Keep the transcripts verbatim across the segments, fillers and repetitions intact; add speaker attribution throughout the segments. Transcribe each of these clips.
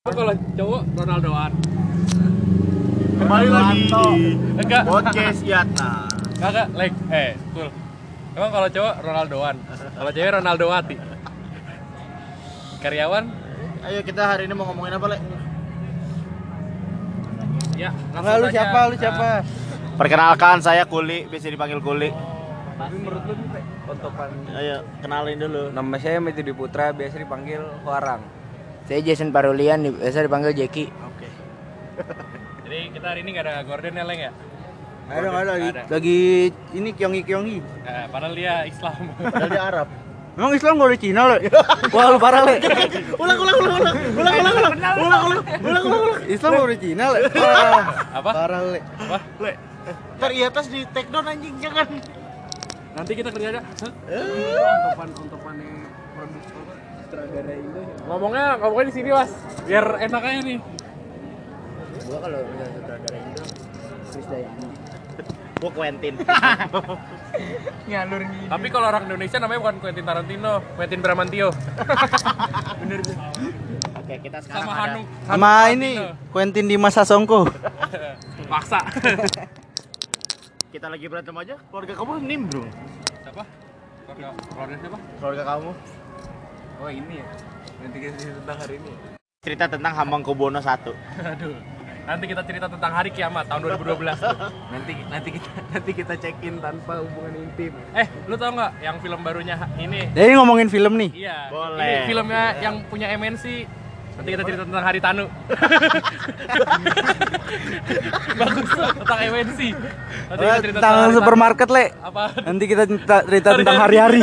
Speaker 1: Kalau cowok Ronaldoan.
Speaker 2: Kembali lagi di
Speaker 1: Enggak.
Speaker 2: podcast Yatna.
Speaker 1: Enggak, like, eh, cool. Emang kalau cowok Ronaldoan, kalau cewek Ronaldowati. Karyawan?
Speaker 2: Ayo kita hari ini mau ngomongin apa, Le?
Speaker 1: Ya,
Speaker 3: Enggak, lu siapa? Lu siapa?
Speaker 2: Perkenalkan, saya Kuli, biasa dipanggil Kuli.
Speaker 3: Tapi menurut lu nih, Ontopan.
Speaker 2: Ayo, kenalin dulu.
Speaker 3: Nama saya Metudi Putra, biasa dipanggil Huarang.
Speaker 4: Saya Jason Parulian, biasa dipanggil Jeki.
Speaker 2: Oke.
Speaker 1: Jadi kita hari ini nggak ada Gordon ya, Leng ya?
Speaker 3: Ada nggak ada lagi?
Speaker 1: Ada.
Speaker 3: Lagi ini kyongi kyongi.
Speaker 1: Eh, padahal dia Islam.
Speaker 2: Padahal dia Arab.
Speaker 3: Emang Islam gak ada Cina, Le? Wah, lu parah, Le.
Speaker 2: Ulang, ulang, ulang, ulang. Ulang, ulang, ulang. Ulang, ulang. Ulang, ulang, ulang.
Speaker 3: Islam gak ada Cina, Le. Wah,
Speaker 1: Apa?
Speaker 3: parah, Le.
Speaker 1: Apa?
Speaker 2: Le. Ntar di atas di take down anjing, jangan.
Speaker 1: Nanti kita kerja aja.
Speaker 3: Ontopan-ontopannya produk sutradara Indo.
Speaker 1: Ngomongnya, ngomongnya di sini, Mas. Biar enak aja nih.
Speaker 4: Gua kalau misalnya sutradara Indo, Chris Dayani.
Speaker 2: Gua Quentin.
Speaker 3: Ngalur gini.
Speaker 1: Tapi kalau orang Indonesia namanya bukan Quentin Tarantino, Quentin Bramantio.
Speaker 3: Bener tuh.
Speaker 2: Oke, kita sekarang
Speaker 1: Sama
Speaker 2: ada
Speaker 1: Hanung.
Speaker 3: Sama ini, Quentin Dimas Sasongko.
Speaker 1: Paksa.
Speaker 2: kita lagi berantem aja. Keluarga kamu nimbrung.
Speaker 1: Siapa? Keluarga, keluarga siapa?
Speaker 2: Keluarga kamu.
Speaker 3: Oh, ini ya. Nanti kita cerita tentang hari ini.
Speaker 2: Cerita tentang Hamengkubuwono satu.
Speaker 1: Aduh. Nanti kita cerita tentang hari kiamat tahun dua ribu dua belas.
Speaker 3: Nanti nanti kita nanti kita check-in tanpa hubungan intim.
Speaker 1: Eh, lu tau nggak yang film barunya ini?
Speaker 3: Jadi ngomongin film nih.
Speaker 1: Iya.
Speaker 2: Boleh.
Speaker 1: Ini filmnya yang punya M N C. Nanti kita cerita tentang Hari Tanu. Bagus tuh, tentang M N C. Nanti kita cerita
Speaker 3: Tentang
Speaker 1: Hari
Speaker 3: supermarket, Le.
Speaker 1: Tanu. Apa?
Speaker 3: Nanti kita cerita, cerita tentang hari-hari.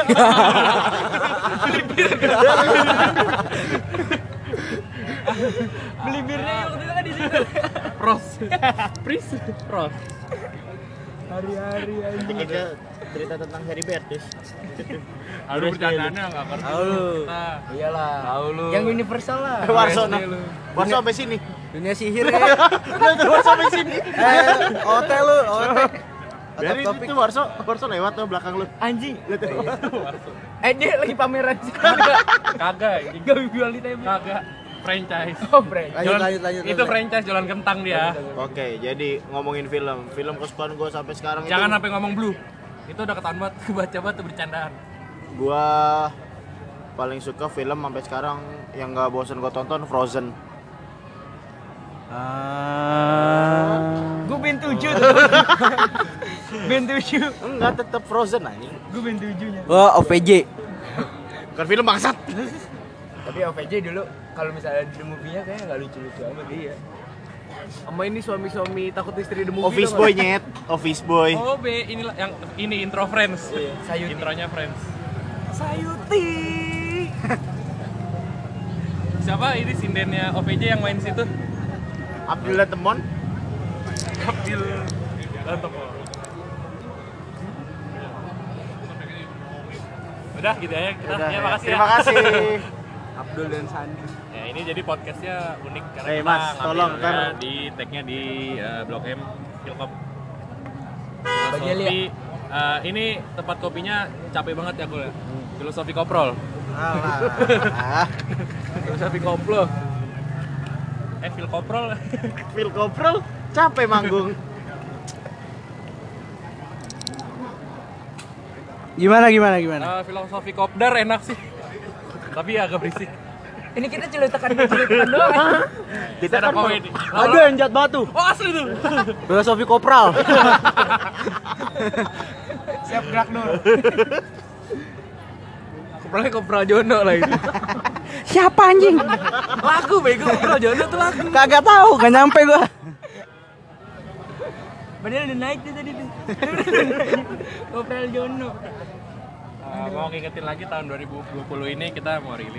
Speaker 1: Beli birnya waktu itu kan di situ. Pros. Pris. Pros.
Speaker 3: Hari-hari
Speaker 2: Nanti kita cerita tentang Harry Bertus.
Speaker 1: Aduh, bercandaannya nggak ngerti.
Speaker 3: Tahu lu.
Speaker 1: Nah,
Speaker 4: Iyalah.
Speaker 3: Tahu lu.
Speaker 4: Yang universal lah.
Speaker 2: Warso,
Speaker 3: S D
Speaker 2: no.
Speaker 3: lu.
Speaker 2: Warso sampai sini.
Speaker 3: Dunia sihir ya.
Speaker 2: Warso sampai sini.
Speaker 3: Eh, hotel lu, hotel.
Speaker 2: Dari
Speaker 3: Topik.
Speaker 2: itu Warso, Warso lewat tuh belakang lu.
Speaker 4: Anjing.
Speaker 2: Lihat tuh.
Speaker 4: Eh dia lagi pameran sih.
Speaker 1: kagak.
Speaker 4: Gak jual di table.
Speaker 1: Kagak. Franchise.
Speaker 4: Oh, brand.
Speaker 3: Lanjut,
Speaker 1: Jualan-
Speaker 3: lanjut, lanjut,
Speaker 1: Itu
Speaker 3: lanjut.
Speaker 1: franchise jualan kentang dia.
Speaker 2: Oke, jadi ngomongin film. Film kesukaan gue sampai sekarang
Speaker 1: Jangan
Speaker 2: itu
Speaker 1: sampai ngomong blue. Itu udah ketahuan banget baca-baca tuh bercandaan.
Speaker 2: gua paling suka film sampai sekarang yang gak bosan gue tonton Frozen.
Speaker 3: Ah.
Speaker 4: Gue ben tujuh tuh. Ben tujuh.
Speaker 2: Enggak, tetap Frozen anjing.
Speaker 4: Gue ben tujuhnya.
Speaker 3: Wah, O V J.
Speaker 2: Bukan film bangsat.
Speaker 4: Tapi O V J dulu kalau misalnya di movie-nya kayaknya enggak lucu-lucu amat dia.
Speaker 3: Sama ini suami-suami takut istri the movie.
Speaker 2: Office Boy nyet, Office Boy.
Speaker 1: Oh, B, inilah yang ini intro Friends.
Speaker 4: Sayuti.
Speaker 1: Intronya Friends.
Speaker 3: Sayuti.
Speaker 1: Siapa ini sindennya O V J yang main situ?
Speaker 2: Abdullah Temon.
Speaker 1: Abdil Lantok. Udah gitu aja kita.
Speaker 2: Udah,
Speaker 1: Ya,
Speaker 2: ya.
Speaker 1: makasih
Speaker 2: Terima
Speaker 1: ya.
Speaker 2: kasih.
Speaker 3: Abdul dan Sandi.
Speaker 1: Ya, ini jadi podcastnya unik karena
Speaker 2: Eh,
Speaker 1: kita
Speaker 2: Mas,
Speaker 1: ngambilnya
Speaker 2: tolong, kan.
Speaker 1: di tag-nya di uh, Blok M Filkop.
Speaker 4: Bagi Elia.
Speaker 1: Filosofi, uh, ini tempat kopinya capek banget ya gue. Filosofi Koprol.
Speaker 3: Alah.
Speaker 1: Filosofi Koplo. Eh, Phil Koprol.
Speaker 2: Phil Koprol capek manggung.
Speaker 3: Gimana gimana gimana?
Speaker 1: Uh, filosofi Kopdar enak sih. Tapi agak berisik.
Speaker 4: Ini kita celutukan-celutukan doang.
Speaker 2: Kita
Speaker 1: Ada
Speaker 2: kan mau-
Speaker 1: komedi.
Speaker 3: Ada yang jat batu.
Speaker 1: Oh, asli tuh.
Speaker 3: Filosofi kopral.
Speaker 4: Siap gerak dulu.
Speaker 1: Koprolnya Kopral Jono lah itu.
Speaker 3: Siapa anjing?
Speaker 1: Lagu bego Kopral Jono tuh lagu.
Speaker 3: Kagak tahu, gak nyampe gua.
Speaker 4: Padahal udah naik tuh tadi tuh. Kopral Jono.
Speaker 1: Uh, mau ngingetin lagi tahun dua ribu dua puluh ini kita mau rilis.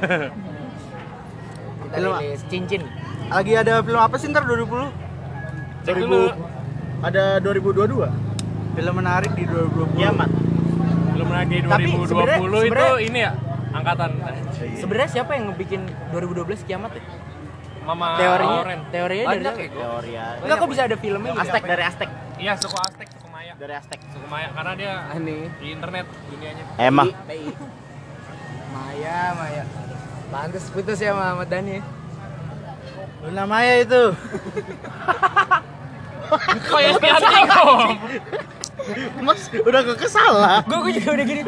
Speaker 4: Kita
Speaker 3: Film-
Speaker 4: rilis cincin.
Speaker 3: Lagi ada film apa sih ntar dua ribu puluh?
Speaker 1: Cek dulu.
Speaker 2: Ada dua ribu dua puluh dua.
Speaker 3: Film menarik di dua ribu dua puluh.
Speaker 2: Kiamat.
Speaker 1: Belum lagi dua
Speaker 4: Tapi
Speaker 1: ribu dua
Speaker 4: sebenarnya-
Speaker 1: puluh itu
Speaker 4: sebenarnya-
Speaker 1: ini ya angkatan
Speaker 4: Sebenarnya siapa yang ngebikin dua ribu dua belas kiamat ya?
Speaker 1: Mama
Speaker 4: Teorinya,
Speaker 1: Lauren.
Speaker 4: teorinya dari
Speaker 1: Banyak
Speaker 4: siapa?
Speaker 1: ya,
Speaker 2: Teori ya.
Speaker 4: Enggak kok bisa ada filmnya gitu?
Speaker 2: Aztec dari Aztec.
Speaker 1: Iya, suku Aztec, suku Maya.
Speaker 2: Dari Aztec.
Speaker 1: Suku Maya karena dia
Speaker 3: Aneh.
Speaker 1: di internet dunianya.
Speaker 2: Emang.
Speaker 4: P I. Maya, Maya. Pantes putus ya sama Ahmad Dhani.
Speaker 3: Luna Maya itu.
Speaker 1: Kok ya anjing kok?
Speaker 2: Mas udah gak kesalah.
Speaker 4: Gue gue juga udah gini.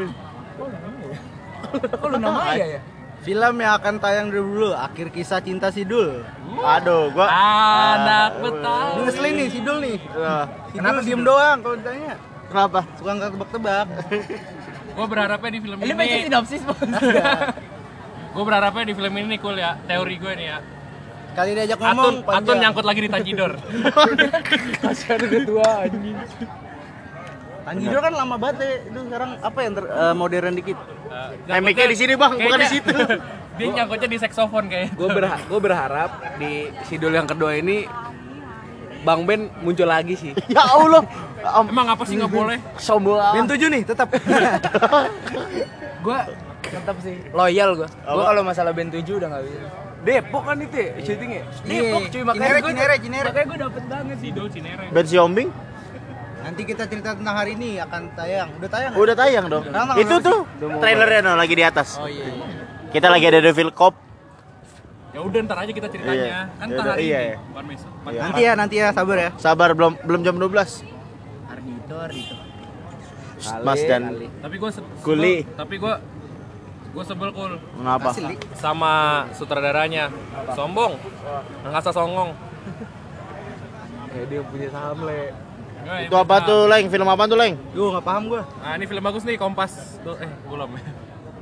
Speaker 4: Kok Luna Maya ya?
Speaker 3: Film yang akan tayang dulu, Akhir Kisah Cinta Sidul.
Speaker 2: Aduh, gua
Speaker 1: Anak Betawi.
Speaker 3: Ini ngeselin nih Sidul nih.
Speaker 2: Nah,
Speaker 3: Kenapa diem doang kalau ditanya?
Speaker 2: kenapa?
Speaker 3: Suka nggak tebak-tebak.
Speaker 1: Gue berharapnya di film
Speaker 4: Ini baca
Speaker 1: ini.
Speaker 4: sinopsis bos.
Speaker 1: Gue berharapnya di film ini cool ya. Teori gue nih ya.
Speaker 3: Kali diajak
Speaker 1: Atun,
Speaker 3: ngomong
Speaker 1: Atun nyangkut lagi di Tajidor.
Speaker 4: Kasihan udah tua anjing.
Speaker 3: Tanjidor kan lama banget ya. Itu sekarang apa yang ter, eh, modern dikit?
Speaker 1: Uh,
Speaker 2: Mic-nya di sini, Bang, bukan di situ.
Speaker 1: Dia nyangkutnya di saksofon kayaknya.
Speaker 3: Gue berha gue berharap di Sidul yang kedua ini Bang Ben muncul lagi sih.
Speaker 2: Ya Allah. Am-
Speaker 1: Emang apa sih nggak boleh?
Speaker 2: Sombong.
Speaker 3: Ben tujuh nih tetap.
Speaker 4: Gue tetap sih loyal gue. Gue
Speaker 2: Apa?
Speaker 4: kalau masalah band tujuh udah nggak bisa.
Speaker 3: Depok kan itu ya, syutingnya.
Speaker 4: Depok cuy makanya
Speaker 3: Cinere,
Speaker 4: gue
Speaker 3: Cinere, Cinere.
Speaker 4: makanya gue dapet banget sih.
Speaker 1: Sidul Cinere.
Speaker 2: Ben Siombing
Speaker 3: Nanti kita cerita tentang hari ini akan tayang. Udah tayang?
Speaker 2: udah tayang dong.
Speaker 3: Tanggal
Speaker 2: Itu
Speaker 3: berapa
Speaker 2: tuh
Speaker 3: sih? Udah mau
Speaker 2: trailernya no, lagi di atas.
Speaker 3: Oh iya. iya.
Speaker 2: Kita lagi ada Devil Cop.
Speaker 1: Ya udah ntar aja kita ceritanya.
Speaker 2: Iya.
Speaker 1: Kan
Speaker 2: Ya
Speaker 1: ntar
Speaker 2: udah,
Speaker 1: hari
Speaker 2: iya,
Speaker 1: ini,
Speaker 2: iya.
Speaker 1: bukan besok.
Speaker 2: Iya.
Speaker 3: Nanti ya, nanti ya, sabar ya.
Speaker 2: Sabar belum belum jam dua belas.
Speaker 3: Ardito, Ardito.
Speaker 2: Mas dan
Speaker 1: Tapi gue
Speaker 2: Kuli.
Speaker 1: Tapi gue gue sebel cool
Speaker 2: Kenapa?
Speaker 3: Asli.
Speaker 1: sama sutradaranya. Sombong. Ngasa songong.
Speaker 3: Ya dia punya saham le.
Speaker 1: Gua
Speaker 2: Itu apa tuh, Leng? Film apa tuh, Leng?
Speaker 3: Gue nggak paham gue.
Speaker 1: Nah, ini film bagus nih, Kompas. Tuh, eh, belum ya.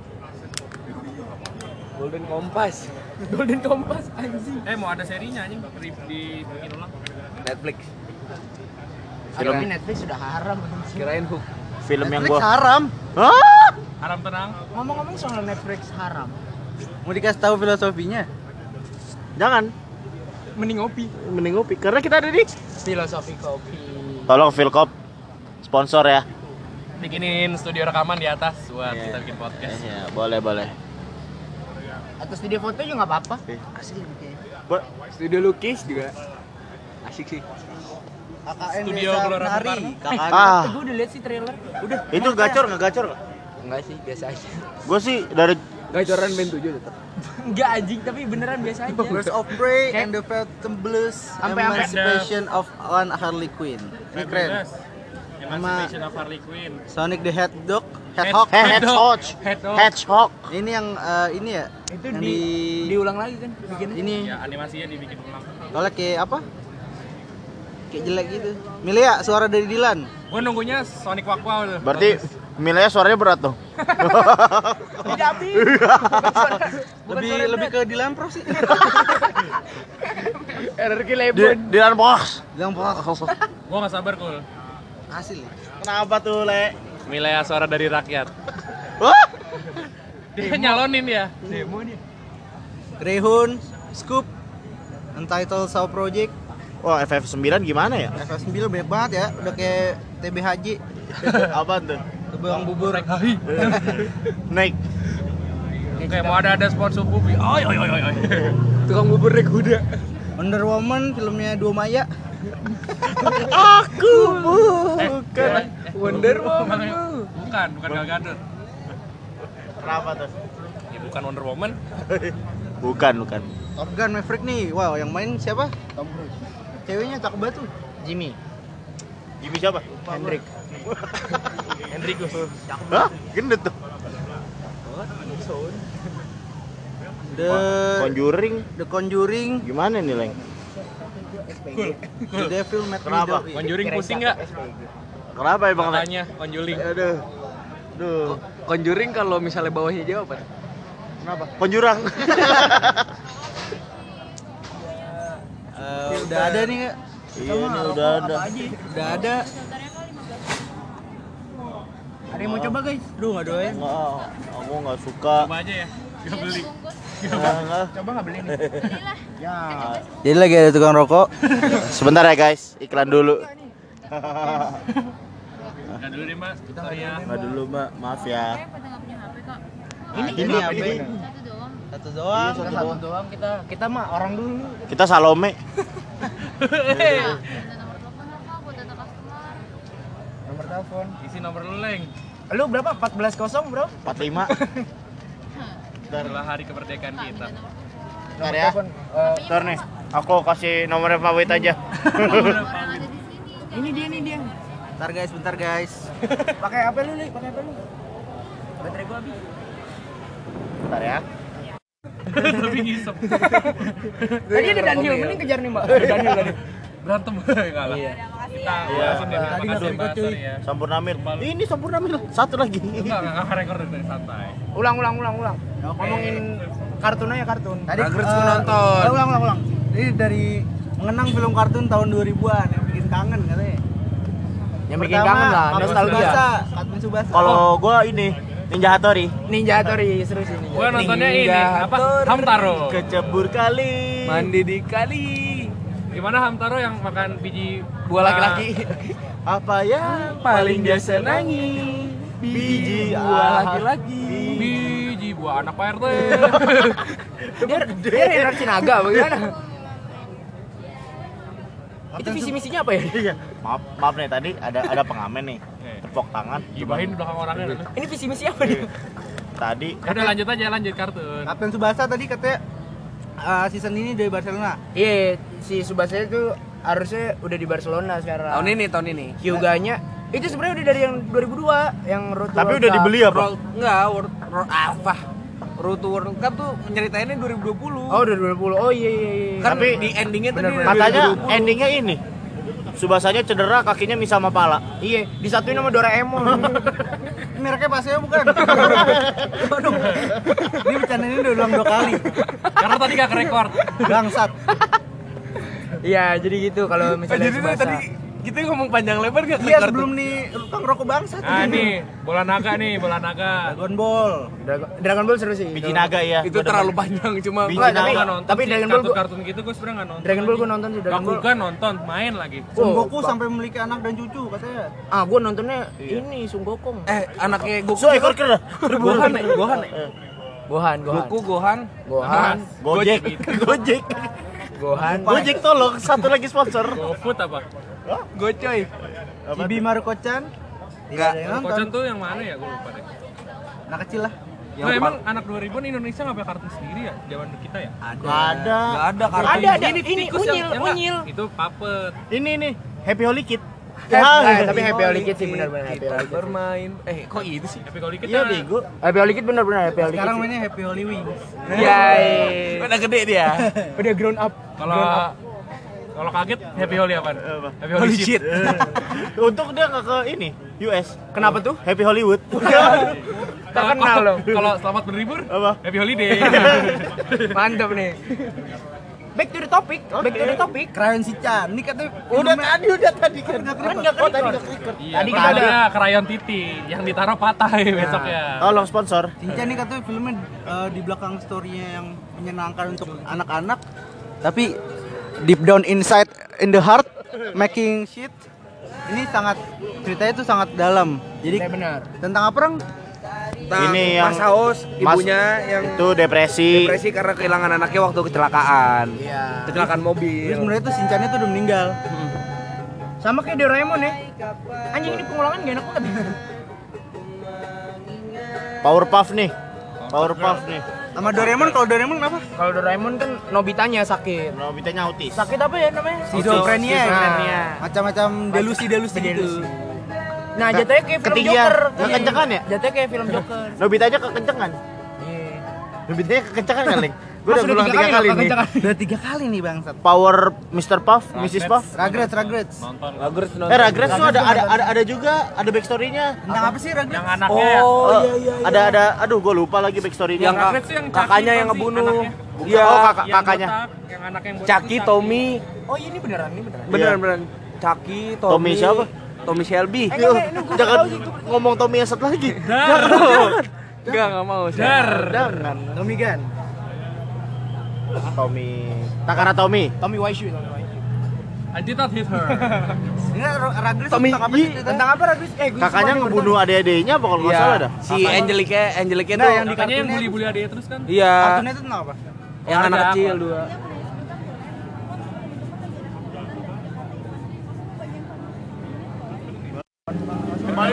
Speaker 3: Golden Kompas.
Speaker 4: Golden Kompas anjing.
Speaker 1: Eh, mau ada serinya anjing di dibikin ulang.
Speaker 3: Netflix.
Speaker 2: Film
Speaker 4: Tapi Netflix sudah haram anjing.
Speaker 3: Kirain hook.
Speaker 2: film yang
Speaker 3: Netflix
Speaker 2: gua
Speaker 3: haram.
Speaker 2: Hah?
Speaker 1: Haram tenang.
Speaker 4: Ngomong-ngomong soal Netflix haram.
Speaker 3: Mau dikasih tahu filosofinya?
Speaker 2: Jangan.
Speaker 4: Mending ngopi.
Speaker 2: Mending ngopi karena kita ada di
Speaker 4: Filosofi kopi.
Speaker 2: Tolong Philcop sponsor ya.
Speaker 1: Bikinin studio rekaman di atas buat
Speaker 2: Iya.
Speaker 1: kita bikin podcast.
Speaker 2: Ya, boleh, boleh.
Speaker 4: Atau studio foto juga nggak apa-apa.
Speaker 3: Asli kayaknya.
Speaker 2: Bo-
Speaker 3: Studio lukis juga. Asik sih. K K N
Speaker 1: Studio
Speaker 3: Desa
Speaker 1: Gelora
Speaker 3: Menari.
Speaker 1: Bung
Speaker 3: K K N.
Speaker 2: Ah,
Speaker 4: Gue udah lihat sih trailer.
Speaker 3: Udah.
Speaker 2: itu gacor nggak gacor?
Speaker 4: Enggak sih, biasa aja.
Speaker 2: Gue sih dari
Speaker 3: Gacoran band tujuh tetap.
Speaker 4: Enggak anjing, tapi beneran biasa aja.
Speaker 3: Birds of Prey
Speaker 4: Kayak-
Speaker 3: and the Phantom Blues
Speaker 4: Sampai- sampai-
Speaker 3: Emancipation of one Harley Quinn. Ini keren.
Speaker 1: Emancipation of Harley Quinn.
Speaker 3: Sonic the Hedgehog, Hedgehog.
Speaker 2: Eh, Hedgehog.
Speaker 1: Hedgehog.
Speaker 2: Hedgehog.
Speaker 3: Ini yang eh, ini ya.
Speaker 4: Itu
Speaker 3: yang
Speaker 4: di, diulang lagi kan bikinnya.
Speaker 3: ini
Speaker 1: Ya, animasinya dibikin ulang.
Speaker 3: soalnya kayak apa? Kayak jelek gitu. Milia, suara dari Dilan.
Speaker 1: Gue nunggunya Sonic Wakwa tuh.
Speaker 2: Berarti Milenya suaranya berat tuh.
Speaker 4: Tidak habis.
Speaker 3: Lebih lebih ke Dilan Pro sih.
Speaker 4: R R Q
Speaker 2: Di,
Speaker 4: Lebon.
Speaker 2: di dalam box.
Speaker 3: Dilan Pro.
Speaker 1: Gue nggak sabar cool.
Speaker 3: Hasil. ya?
Speaker 2: Kenapa tuh, Le?
Speaker 1: Milea suara dari rakyat.
Speaker 2: Wah!
Speaker 1: Dia nyalonin ya.
Speaker 4: Demo nih.
Speaker 3: Greyhound, Scoop, Untitled Soul Project,
Speaker 2: Wah, F F sembilan gimana ya?
Speaker 3: F F sembilan banyak banget ya. Udah kayak T B H J,
Speaker 2: Apaan tuh?
Speaker 3: Tebang Bubur.
Speaker 2: Naik.
Speaker 1: Oke, mau ada ada sponsor bubi. Oi oi oi oi.
Speaker 3: Tukang bubur naik kuda. Wonder Woman filmnya Dua Maya.
Speaker 2: Aku
Speaker 1: Eh,
Speaker 2: bukan.
Speaker 4: Wonder Woman.
Speaker 1: Bukan, bukan Gal Gadot.
Speaker 2: Kenapa tuh?
Speaker 1: Ya bukan Wonder Woman.
Speaker 2: Bukan, bukan.
Speaker 3: Top Gun Maverick nih. Wow, yang main siapa? Tom Cruise. Ceweknya cakep banget tuh.
Speaker 4: Jimmy.
Speaker 2: Jimmy siapa?
Speaker 4: Hendrik.
Speaker 1: Hendrikus.
Speaker 2: Hah? Gendut tuh.
Speaker 3: The
Speaker 2: Conjuring.
Speaker 3: The Conjuring,
Speaker 2: Gimana nih, Leng?
Speaker 3: The Devil Made Me
Speaker 2: Kenapa?
Speaker 3: Do It.
Speaker 1: Conjuring pusing nggak?
Speaker 2: Kenapa emang, Leng?
Speaker 1: Makanya Conjuring.
Speaker 2: Aduh. Aduh.
Speaker 3: Conjuring kalau misalnya bawahnya jawaban.
Speaker 2: Kenapa? Konjurang.
Speaker 3: Eh, udah ada nih, Kak.
Speaker 2: Iya, ini udah ada.
Speaker 3: Udah ada.
Speaker 4: Ada yang mau coba guys?
Speaker 3: Aduh, enggak doyan.
Speaker 2: Enggak, aku enggak suka.
Speaker 1: Coba aja ya. Gak beli.
Speaker 2: Enggak, enggak.
Speaker 4: Coba nggak beli nih?
Speaker 3: Ya. Jadi lagi ada tukang rokok.
Speaker 2: Sebentar ya, guys. Iklan dulu.
Speaker 1: Nah dulu deh mbak. Saya.
Speaker 2: Enggak dulu, Mbak. Maaf ya.
Speaker 5: Pada nggak punya H P kok.
Speaker 3: Ini
Speaker 2: ini
Speaker 3: ini
Speaker 2: apa
Speaker 3: apa?
Speaker 2: ini?
Speaker 5: Satu doang.
Speaker 3: Satu doang.
Speaker 4: Kita satu doang kita. Kita mah orang dulu.
Speaker 2: Kita Salome.
Speaker 5: Minta nomor telepon apa buat data customer.
Speaker 4: Nomor telepon.
Speaker 1: Isi nomor lu Leng.
Speaker 4: Lu berapa? empat belas kosong bro?
Speaker 2: empat puluh lima.
Speaker 1: Setelah hari kemerdekaan kita.
Speaker 5: Minta nomor telepon.
Speaker 2: Ntar ya. Ntar nih. Aku kasih nomornya Pak Wit aja.
Speaker 5: Orang ada di sini.
Speaker 3: Ini dia nih dia.
Speaker 4: Bentar guys, bentar guys.
Speaker 3: Pakai apa lu nih? Pakai apa lu? Baterai gua habis.
Speaker 2: Bentar ya.
Speaker 1: Tapi ngisep.
Speaker 3: Tadi ada Daniel, mending kejar nih, Mbak. Daniel tadi.
Speaker 1: Berantem kalah.
Speaker 3: Iya.
Speaker 1: Kita
Speaker 2: Iya.
Speaker 1: langsung dari
Speaker 2: Tadi
Speaker 1: makasih
Speaker 2: nggak
Speaker 1: Mas
Speaker 2: cuy.
Speaker 1: Tony ya.
Speaker 2: Sampurnamil. Ini Sampurnamil. Satu lagi.
Speaker 1: Enggak, enggak rekor dari santai.
Speaker 3: Ulang, ulang, ulang, ulang. Ngomongin kartun aja kartun.
Speaker 4: Tadi
Speaker 3: Ragrets
Speaker 4: eh,
Speaker 3: gua nonton.
Speaker 4: eh, ulang, ulang, ulang. Ini dari mengenang film kartun tahun dua ribuan yang bikin kangen katanya.
Speaker 3: Yang bikin kangen lah,
Speaker 4: Kapten
Speaker 3: nostalgia.
Speaker 4: Tsubasa, Kapten Tsubasa.
Speaker 2: Kalau gua ini Ninja Hattori.
Speaker 3: Ninja Hattori seru sih Ninja.
Speaker 1: Gua nontonnya ini
Speaker 3: Ninja
Speaker 1: apa?
Speaker 3: Hattori.
Speaker 1: Hamtaro.
Speaker 2: Kecebur kali.
Speaker 3: Mandi di kali.
Speaker 1: Gimana Hamtaro yang makan biji
Speaker 3: Buah laki-laki.
Speaker 2: Apa yang paling dia senangi? Biji
Speaker 3: buah laki-laki.
Speaker 1: Biji buah anak P R T.
Speaker 3: Dia dia reaksi naga bagaimana? Itu visi misinya apa ya?
Speaker 2: Iya. Maaf, maaf nih tadi ada ada pengamen nih. Tepuk tangan.
Speaker 1: Gibahin di belakang orangnya. dulu.
Speaker 3: Ini visi misi apa dia?
Speaker 2: Tadi
Speaker 1: Udah lanjut aja lanjut kartun.
Speaker 4: Kapten Tsubasa tadi katanya eh, season ini dari Barcelona.
Speaker 3: Iya, si Subasa itu harusnya udah di Barcelona sekarang.
Speaker 6: Tahun ini, tahun ini.
Speaker 3: Hyuganya itu sebenarnya udah dari yang dua ribu dua yang Road to
Speaker 2: tapi
Speaker 3: World
Speaker 2: udah
Speaker 3: Cup.
Speaker 2: dibeli apa?
Speaker 6: World, enggak, World, World apa? Road to World Cup tuh nyeritainnya dua ribu dua puluh.
Speaker 3: Oh, udah dua ribu dua puluh. Oh iya iya iya.
Speaker 6: Kan
Speaker 2: Tapi
Speaker 6: di endingnya tuh
Speaker 3: bener-bener.
Speaker 6: di
Speaker 2: Katanya
Speaker 6: dua ribu dua puluh.
Speaker 2: endingnya ini. Subasanya cedera, kakinya misah sama pala.
Speaker 3: Iya, disatuin sama Doraemon.
Speaker 4: Mereknya Paseo bukan? Waduh. Ini bercanda ini udah ulang dua kali.
Speaker 1: Karena tadi gak kerekord.
Speaker 4: Bangsat.
Speaker 3: Iya, jadi gitu kalau
Speaker 6: Oh,
Speaker 3: misalnya
Speaker 6: jadi tuh
Speaker 3: Tsubasa.
Speaker 6: tadi kita ngomong panjang lebar gak?
Speaker 4: Iya, sebelum nih tukang rokok bangsat.
Speaker 1: Ah nih, bola naga nih, bola naga.
Speaker 4: Dragon Ball.
Speaker 3: Dragon, Dragon Ball seru sih.
Speaker 2: Biji naga ya.
Speaker 6: itu terlalu panjang cuma
Speaker 2: Biji
Speaker 3: Enggak, tapi
Speaker 2: naga.
Speaker 1: Nggak nonton
Speaker 3: tapi
Speaker 1: sih,
Speaker 3: Dragon Ball gua,
Speaker 1: kartun-kartun gitu gue sebenernya nggak nonton.
Speaker 3: Dragon Ball gua nonton sih Dragon Ball.
Speaker 1: Bakugan nonton, main lagi.
Speaker 4: Son
Speaker 3: Oh,
Speaker 4: Goku sampai memiliki anak dan cucu katanya.
Speaker 3: Ah, gua nontonnya ini Sun Gokong.
Speaker 6: eh anaknya Goku.
Speaker 2: So ekor kera.
Speaker 6: Gohan, ya? Gohan. ya?
Speaker 3: Gohan, Gohan.
Speaker 6: Goku, Gohan.
Speaker 3: Gohan.
Speaker 2: Gojek. Gojek.
Speaker 3: Gohan.
Speaker 2: Gojek tolong satu lagi sponsor.
Speaker 1: GoFood apa?
Speaker 6: Gocoy.
Speaker 4: Chibi Maruko-chan.
Speaker 6: Enggak.
Speaker 4: Tidak ada yang nonton.
Speaker 1: Kocan tuh yang mana ya? Gue lupa deh.
Speaker 4: Anak kecil lah.
Speaker 1: Nah, emang anak dua ribuan Indonesia nggak punya kartun sendiri ya? Zaman kita ya?
Speaker 2: Ada. Ada.
Speaker 6: Enggak ada kartu.
Speaker 3: Ada ada
Speaker 1: Ini
Speaker 3: ini
Speaker 1: tikus yang-
Speaker 3: unyil,
Speaker 1: yang nggak?
Speaker 3: unyil.
Speaker 1: Itu puppet.
Speaker 2: Ini nih Happy Holy Kid.
Speaker 3: Eh,
Speaker 2: Ah,
Speaker 3: eh, tapi Happy Holy Kid sih benar-benar Happy
Speaker 6: Kita
Speaker 3: Holy Kid.
Speaker 6: bermain. Eh, kok itu sih?
Speaker 1: Happy Holy Kid
Speaker 2: Iya
Speaker 1: ya?
Speaker 2: bego.
Speaker 3: Happy Holy Kid benar-benar Happy Holy Kid.
Speaker 4: Sekarang
Speaker 3: sih.
Speaker 4: mainnya Happy Holy Wings.
Speaker 3: Iya.
Speaker 6: Udah gede dia.
Speaker 3: Udah grown up.
Speaker 1: Kalau kalau kaget Happy Holy apa? Happy Holy,
Speaker 6: Holy
Speaker 1: shit.
Speaker 6: shit.
Speaker 2: Untung dia nggak ke ini U S.
Speaker 3: Kenapa tuh?
Speaker 2: Happy Hollywood.
Speaker 3: Terkenal loh.
Speaker 1: Kalau selamat berlibur,
Speaker 2: Apa?
Speaker 1: Happy Holiday.
Speaker 3: Mantap nih. Back to the topic. Back to the topic.
Speaker 4: Krayon Shinchan. Ini katanya
Speaker 2: Udah
Speaker 4: filmnya-
Speaker 2: tadi udah tadi kan.
Speaker 4: Nggak
Speaker 2: Kan
Speaker 4: kerekord.
Speaker 2: nggak oh, tadi nggak kerekord.
Speaker 1: Iya,
Speaker 3: Tadi
Speaker 1: tadi
Speaker 3: kan ada.
Speaker 1: ada krayon titi yang ditaruh patah ya besoknya.
Speaker 2: Tolong sponsor.
Speaker 4: Shinchan ini katanya filmnya eh, di belakang story-nya yang menyenangkan untuk anak-anak. Tapi deep down inside in the heart making shit. Ini sangat ceritanya tuh sangat dalam. Jadi
Speaker 3: Iya benar.
Speaker 4: tentang apa, Rang?
Speaker 6: Tentang
Speaker 2: Ini yang-
Speaker 6: Mas Haus,
Speaker 2: Mas-
Speaker 6: ibunya yang
Speaker 2: Itu depresi.
Speaker 6: depresi karena kehilangan anaknya waktu kecelakaan.
Speaker 3: Iya.
Speaker 6: Kecelakaan mobil.
Speaker 4: Terus sebenarnya tuh Shinchan itu udah meninggal.
Speaker 3: Sama kayak Doraemon ya. Anjing ini pengulangan gak enak banget.
Speaker 2: Powerpuff nih. Powerpuff nih.
Speaker 4: Sama Doraemon, kalau Doraemon kenapa?
Speaker 3: Kalau Doraemon kan Nobitanya sakit.
Speaker 2: Nobitanya autis.
Speaker 3: Sakit apa ya namanya?
Speaker 4: Schizophrenia.
Speaker 3: Schizophrenia.
Speaker 4: Macam-macam delusi-delusi gitu.
Speaker 3: Delusi. Nah, jatuhnya kayak film
Speaker 2: Ketinggian.
Speaker 3: Joker.
Speaker 2: Nggak kencengan ya?
Speaker 3: Jatuhnya kayak film Joker.
Speaker 2: Nobitanya kekencengan.
Speaker 3: Iya.
Speaker 2: Nobitanya kekencengan kan, Leng? Gue
Speaker 3: Mas,
Speaker 2: udah bilang tiga kali
Speaker 3: loh,
Speaker 2: nih.
Speaker 3: kekencangan.
Speaker 4: Udah tiga kali nih bangsat.
Speaker 2: Power mister Puff, missus Puff.
Speaker 4: Ragrets, Ragrets.
Speaker 1: Nonton.
Speaker 6: Bagus nonton.
Speaker 2: Eh, Ragrets tuh ada ada ada ada juga ada backstory-nya.
Speaker 4: Tentang apa sih Ragrets?
Speaker 1: Yang anaknya ya.
Speaker 6: Oh,
Speaker 2: Oh,
Speaker 6: iya iya.
Speaker 2: ada ada aduh gue lupa lagi backstory-nya.
Speaker 6: Yang
Speaker 1: Ragrets tuh yang
Speaker 6: kakaknya
Speaker 1: Chucky
Speaker 6: yang
Speaker 1: bukan sih,
Speaker 6: ngebunuh.
Speaker 1: anaknya?
Speaker 2: Iya, oh kakak
Speaker 1: Yang
Speaker 2: kakaknya.
Speaker 1: botak, yang anak yang botak
Speaker 6: Chucky,
Speaker 1: tuh
Speaker 6: Tommy,
Speaker 3: Oh, iya ini beneran, ini beneran.
Speaker 6: beneran
Speaker 2: Iya.
Speaker 6: beneran. Chucky,
Speaker 2: Tommy
Speaker 6: Tommy,
Speaker 2: siapa?
Speaker 6: Tommy Shelby.
Speaker 2: Yo, jangan ngomong Tommy Esat lagi.
Speaker 1: Dar.
Speaker 6: Enggak, enggak mau.
Speaker 1: Dar.
Speaker 2: Jangan.
Speaker 4: Tommy Gun.
Speaker 2: Tommy. Takara Tommy.
Speaker 3: Tommy Wiseau, Tommy Wiseau.
Speaker 1: I did not hit her.
Speaker 4: Ini Ragrets
Speaker 6: Tommy
Speaker 4: tentang apa
Speaker 6: Yi.
Speaker 4: sih ceritanya?
Speaker 3: Tentang apa Ragrets? Eh, gue
Speaker 2: Kakaknya ngebunuh adik-adiknya apa kalau nggak
Speaker 6: Iya.
Speaker 2: salah dah?
Speaker 6: Si Angelica, Angelica
Speaker 4: Nah,
Speaker 6: tuh
Speaker 4: yang di
Speaker 1: Katanya yang
Speaker 4: kartunnya
Speaker 1: bully-bully adiknya terus kan?
Speaker 6: iya,
Speaker 4: Kartunnya itu tentang apa?
Speaker 6: yang anak
Speaker 1: Ada
Speaker 6: kecil
Speaker 1: apa?
Speaker 6: dua.
Speaker 2: Oke,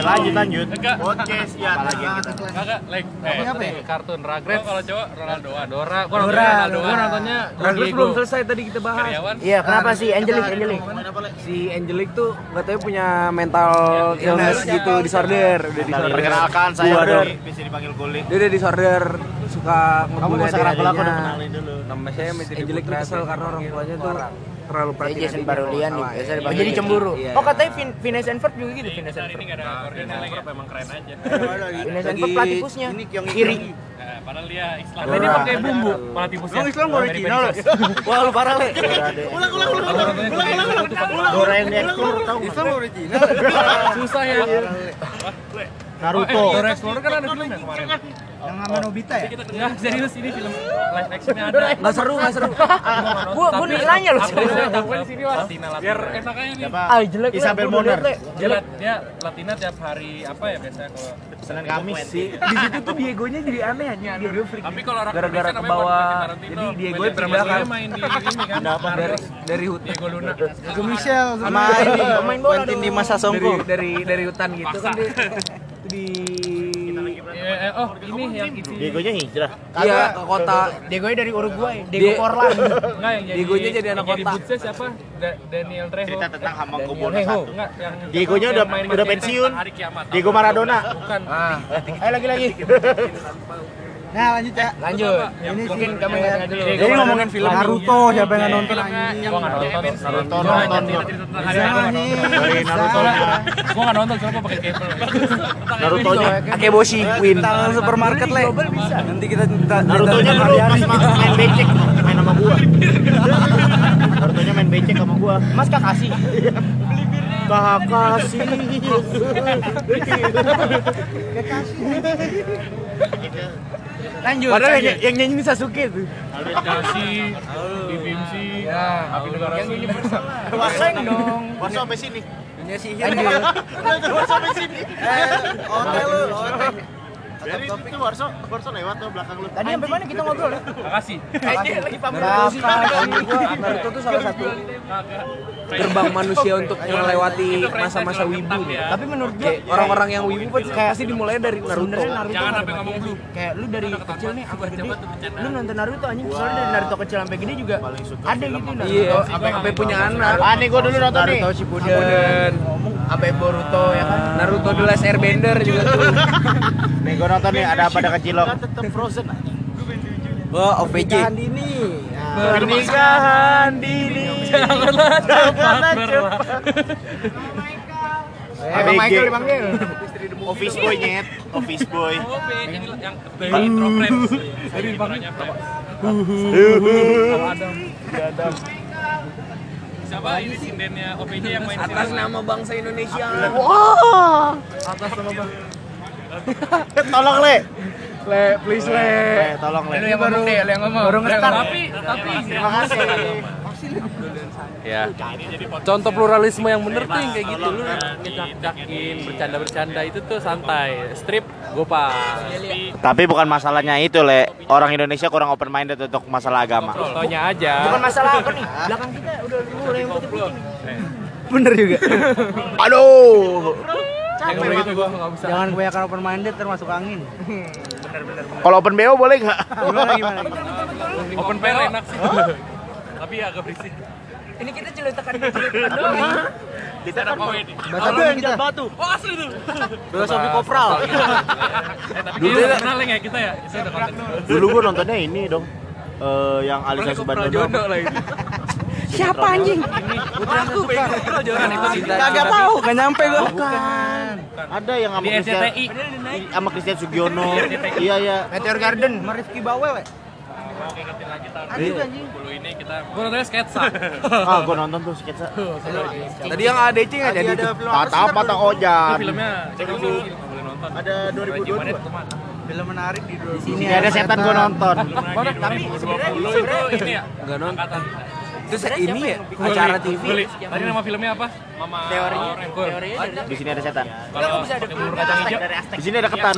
Speaker 2: lanjut lanjut.
Speaker 1: Enggak.
Speaker 2: Podcast ya. Apalagi kita.
Speaker 1: Enggak, like eh,
Speaker 4: apa ya?
Speaker 1: kartun Rugrats. Gua kalau cowok Ronaldoan. Dora, gua
Speaker 3: Dora,
Speaker 1: nontonnya Ronaldoan.
Speaker 3: Dora.
Speaker 1: nontonnya
Speaker 3: Rugrats belum selesai tadi kita bahas.
Speaker 1: Karyawan.
Speaker 3: Iya, kenapa sih Angelic,
Speaker 4: kita-
Speaker 3: Angelic? Si Angelic tuh katanya punya mental illness gitu, disorder, udah disorder.
Speaker 2: Perkenalkan saya
Speaker 3: Gua
Speaker 2: udah
Speaker 3: dong.
Speaker 2: bisa dipanggil kulit.
Speaker 3: Dia udah disorder, suka
Speaker 2: Kamu
Speaker 3: ngebully
Speaker 2: gak usah kenal aku udah
Speaker 3: adik-adiknya.
Speaker 2: kenalin dulu.
Speaker 3: Nama saya Angelic tuh kesel karena orang tuanya tuh terlalu
Speaker 7: Kayak
Speaker 3: perhatian.
Speaker 7: Jason
Speaker 3: adiknya.
Speaker 7: Barulian nih,
Speaker 3: Salah,
Speaker 7: biasa
Speaker 3: ya.
Speaker 7: dipanggil jadi cemburu.
Speaker 3: Iya.
Speaker 7: Oh katanya Vin- Phineas and Ferb juga gitu, Phineas
Speaker 1: Ini
Speaker 7: and Ferb.
Speaker 1: enggak ada koordinasi ya. Emang keren aja.
Speaker 7: Phineas and Ferb platypusnya.
Speaker 4: Ini yang
Speaker 7: Kiri.
Speaker 1: Eh, padahal dia Islam.
Speaker 3: Dora.
Speaker 1: Ini pakai bumbu malah tipusnya.
Speaker 4: Emang Islam original loh.
Speaker 7: Wah lu parah le.
Speaker 2: Ulang ulang ulang ulang ulang ulang. Dora yang di explore tahu nggak?
Speaker 4: Islam original.
Speaker 1: Susah ya.
Speaker 2: Naruto.
Speaker 1: Oh, eh, Dora Explorer kan ada filmnya kemarin.
Speaker 4: Yang sama Nobita ya?
Speaker 1: Enggak, serius ini film live actionnya ada.
Speaker 3: Nggak seru, nggak seru.
Speaker 7: Gua gua nanya lu.
Speaker 1: Aktrisnya tampil di sini lah. Latina, Latina. Biar enak aja nih.
Speaker 2: Siapa?
Speaker 7: Ah jelek.
Speaker 2: Isabel Moner.
Speaker 1: Dia, lat- dia Latina tiap hari apa ya biasanya kalau
Speaker 2: Senin Kamis sih.
Speaker 3: Di situ tuh Diegonya jadi aneh aja. Diego freak.
Speaker 1: tapi kalau orang
Speaker 3: Gara-gara
Speaker 1: Indonesia
Speaker 3: ke
Speaker 1: namanya
Speaker 3: bawah.
Speaker 1: Quentin Tarantino.
Speaker 3: Jadi Diego
Speaker 1: Main di
Speaker 3: pindah
Speaker 1: drama
Speaker 3: kan
Speaker 1: Dia main di ini kan.
Speaker 3: dari dari hutan.
Speaker 1: Diego Luna.
Speaker 4: Ke Michelle sama ini
Speaker 7: Pemain bola
Speaker 4: Quentin
Speaker 7: dong.
Speaker 4: di masa
Speaker 3: dari
Speaker 4: Songko.
Speaker 3: dari dari hutan gitu kan dia itu di
Speaker 1: Eh, eh, oh, ini yang isi.
Speaker 2: Diegonya hijrah.
Speaker 3: iya ke kota
Speaker 7: Diego dari Uruguay,
Speaker 3: Dia-
Speaker 7: Diego Forlan.
Speaker 1: Enggak yang jadi.
Speaker 3: Diegonya jadi anak
Speaker 1: yang
Speaker 3: kota.
Speaker 1: Bootsnya siapa? Da- Daniel Trejo.
Speaker 2: Cerita tentang Hamang
Speaker 1: Daniel
Speaker 2: Kubono
Speaker 1: Trejo.
Speaker 2: satu.
Speaker 1: Enggak, yang
Speaker 2: Diegonya
Speaker 1: yang
Speaker 2: udah
Speaker 1: main
Speaker 2: udah
Speaker 1: cerita
Speaker 2: pensiun.
Speaker 1: tentang hari kiamat.
Speaker 2: Diego Maradona.
Speaker 1: Bukan.
Speaker 3: ah
Speaker 7: Ayo lagi lagi.
Speaker 4: Nah lanjut ya.
Speaker 7: Lanjut.
Speaker 4: Ini
Speaker 7: Mungkin
Speaker 4: sih-
Speaker 7: kamu nggak dulu.
Speaker 4: Jadi ngomongin film Naruto, siapa yang nggak nonton
Speaker 1: Filmnya
Speaker 4: anjing?
Speaker 1: Gua enggak nonton.
Speaker 2: Naruto nonton gua.
Speaker 1: Hari ini gua nggak nonton.
Speaker 2: Dari Naruto
Speaker 1: Gua enggak nonton soalnya gua pakai kabel.
Speaker 2: Naruto-nya
Speaker 3: Akeboshi Queen
Speaker 4: Tangan supermarket le. Nanti kita minta
Speaker 2: Naruto-nya
Speaker 4: minta
Speaker 2: dulu
Speaker 4: Mariani.
Speaker 2: pas ma- main becek main sama gua. Naruto-nya main becek sama gua.
Speaker 7: Mas Kakashi.
Speaker 2: Kakashi.
Speaker 7: Lanjut.
Speaker 3: padahal
Speaker 7: lanjut.
Speaker 3: yang, yang nyanyi Sasuke tuh
Speaker 1: Kasih, Bibimsi,
Speaker 3: ya
Speaker 1: Abi Negara
Speaker 7: Yang ini
Speaker 1: Sini.
Speaker 7: Warsaing dong.
Speaker 2: Warso sampai sini.
Speaker 4: Dunia sihir.
Speaker 7: Lanjut.
Speaker 2: Warso sampai sini.
Speaker 4: Hotel lu, hotel.
Speaker 2: Dari itu Warso, Warso lewat tuh belakang lu.
Speaker 7: Tadi sampai mana kita ngobrol ya?
Speaker 1: Makasih.
Speaker 7: Lagi pamer.
Speaker 3: Kakashi gua Naruto tuh salah satu gerbang manusia untuk melewati masa-masa wibu
Speaker 7: Tapi menurut gue
Speaker 3: Kayak orang-orang yang wibu pasti pasti dimulai dari Naruto
Speaker 7: sebenarnya Naruto
Speaker 1: Jangan
Speaker 7: nggak
Speaker 1: sampai
Speaker 7: ada
Speaker 1: ngomong
Speaker 7: batasnya
Speaker 1: blue.
Speaker 7: sih. Kayak lu dari kecil nih sampai gede.
Speaker 1: coba tuh bercanda.
Speaker 7: Lu nonton Naruto anjing soalnya dari Naruto kecil sampai gede juga
Speaker 2: Paling suka
Speaker 7: ada
Speaker 2: film
Speaker 7: gitu
Speaker 2: apa?
Speaker 7: Naruto.
Speaker 3: iya sampai sampai punya anak
Speaker 2: Ah nih gua dulu nonton nih.
Speaker 7: Naruto Shippuden, sampai Boruto ya kan.
Speaker 3: Naruto The Last Airbender juga tuh
Speaker 2: Nih gua nonton nih ada apa ada kecilok. Tetap Frozen.
Speaker 4: Oh, O V J.
Speaker 3: dini
Speaker 2: Pernikahan dini. Janganlah cepat.
Speaker 7: Eh, Bang Michael dipanggil.
Speaker 2: Office boy nyet, office boy.
Speaker 1: Oh, yang yang dari intro friends. Dari intronya friends. Kalau Adam.
Speaker 2: Adam.
Speaker 1: Siapa ini sindennya O P J yang main
Speaker 3: atas
Speaker 1: sindennya?
Speaker 3: nama bangsa Indonesia
Speaker 1: Atas nama bang.
Speaker 2: Tolong le.
Speaker 3: le please le
Speaker 2: Le, tolong le.
Speaker 7: Lu yang ngomong deh, lu yang ngomong. Baru
Speaker 1: Tapi tapi
Speaker 2: Terima kasih.
Speaker 1: ya contoh pluralisme yang bener tuh yang kayak gitu lu ngecak-cakin bercanda-bercanda itu tuh santai strip gopal
Speaker 2: Tapi bukan masalahnya itu le. Orang Indonesia kurang open minded untuk masalah agama.
Speaker 1: contohnya aja
Speaker 7: Bukan masalah apa nih? Belakang kita udah mulai yang putih-putih nih.
Speaker 4: Bener juga.
Speaker 2: Aduh.
Speaker 1: yang begitu gua nggak bisa
Speaker 4: Jangan kebanyakan open minded termasuk angin.
Speaker 2: Kalau open B O boleh nggak?
Speaker 4: Gimana gimana?
Speaker 1: open pair enak sih tapi agak berisik
Speaker 7: Ini kita ceritakan ceritakan doang nih.
Speaker 2: Kita kan
Speaker 1: apa ini
Speaker 4: Bahasa apa kita?
Speaker 2: batu.
Speaker 1: oh asli tuh
Speaker 4: Filosofi kopral.
Speaker 1: eh tapi dulu kenal ya kita ya saya udah konten
Speaker 2: Dulu gua nontonnya ini dong. Eh yang Alisa Subandano.
Speaker 3: lah ini
Speaker 7: Siapa anjing?
Speaker 1: aku bego jangan itu cinta
Speaker 4: Kagak tahu, gak nyampe gua. Bukan.
Speaker 2: Ada yang sama
Speaker 1: di R C T I
Speaker 2: Christian, sama Christian Sugiono. Iya iya.
Speaker 7: Meteor Garden.
Speaker 4: Sama Rifki Bawel ya?
Speaker 1: mau ngingetin lagi tar
Speaker 4: Ada juga anjing.
Speaker 1: dulu ini kita gua nontonnya sketsa
Speaker 2: Ah gua nonton tuh sketsa.
Speaker 3: tadi yang A D C nggak jadi
Speaker 4: Ada
Speaker 3: tuh
Speaker 4: film apa
Speaker 2: Kata
Speaker 4: sih?
Speaker 2: apa tak
Speaker 1: itu
Speaker 2: ojan.
Speaker 1: filmnya cek dulu nggak boleh nonton
Speaker 2: Ada dua ribu dua puluh dua.
Speaker 4: Film menarik di dua.
Speaker 2: Ini ada setan gua nonton.
Speaker 1: mana tapi sebenarnya itu ini ya
Speaker 3: nggak nonton
Speaker 1: angkatan
Speaker 3: itu se- ini ya acara T V
Speaker 1: Guli. Tadi nama filmnya apa? Mama
Speaker 7: Teorinya,
Speaker 1: Rengkul.
Speaker 7: teorinya ada.
Speaker 2: Di sini ada setan.
Speaker 1: Kalau pakai bubur kacang hijau
Speaker 2: Di sini ada ketan.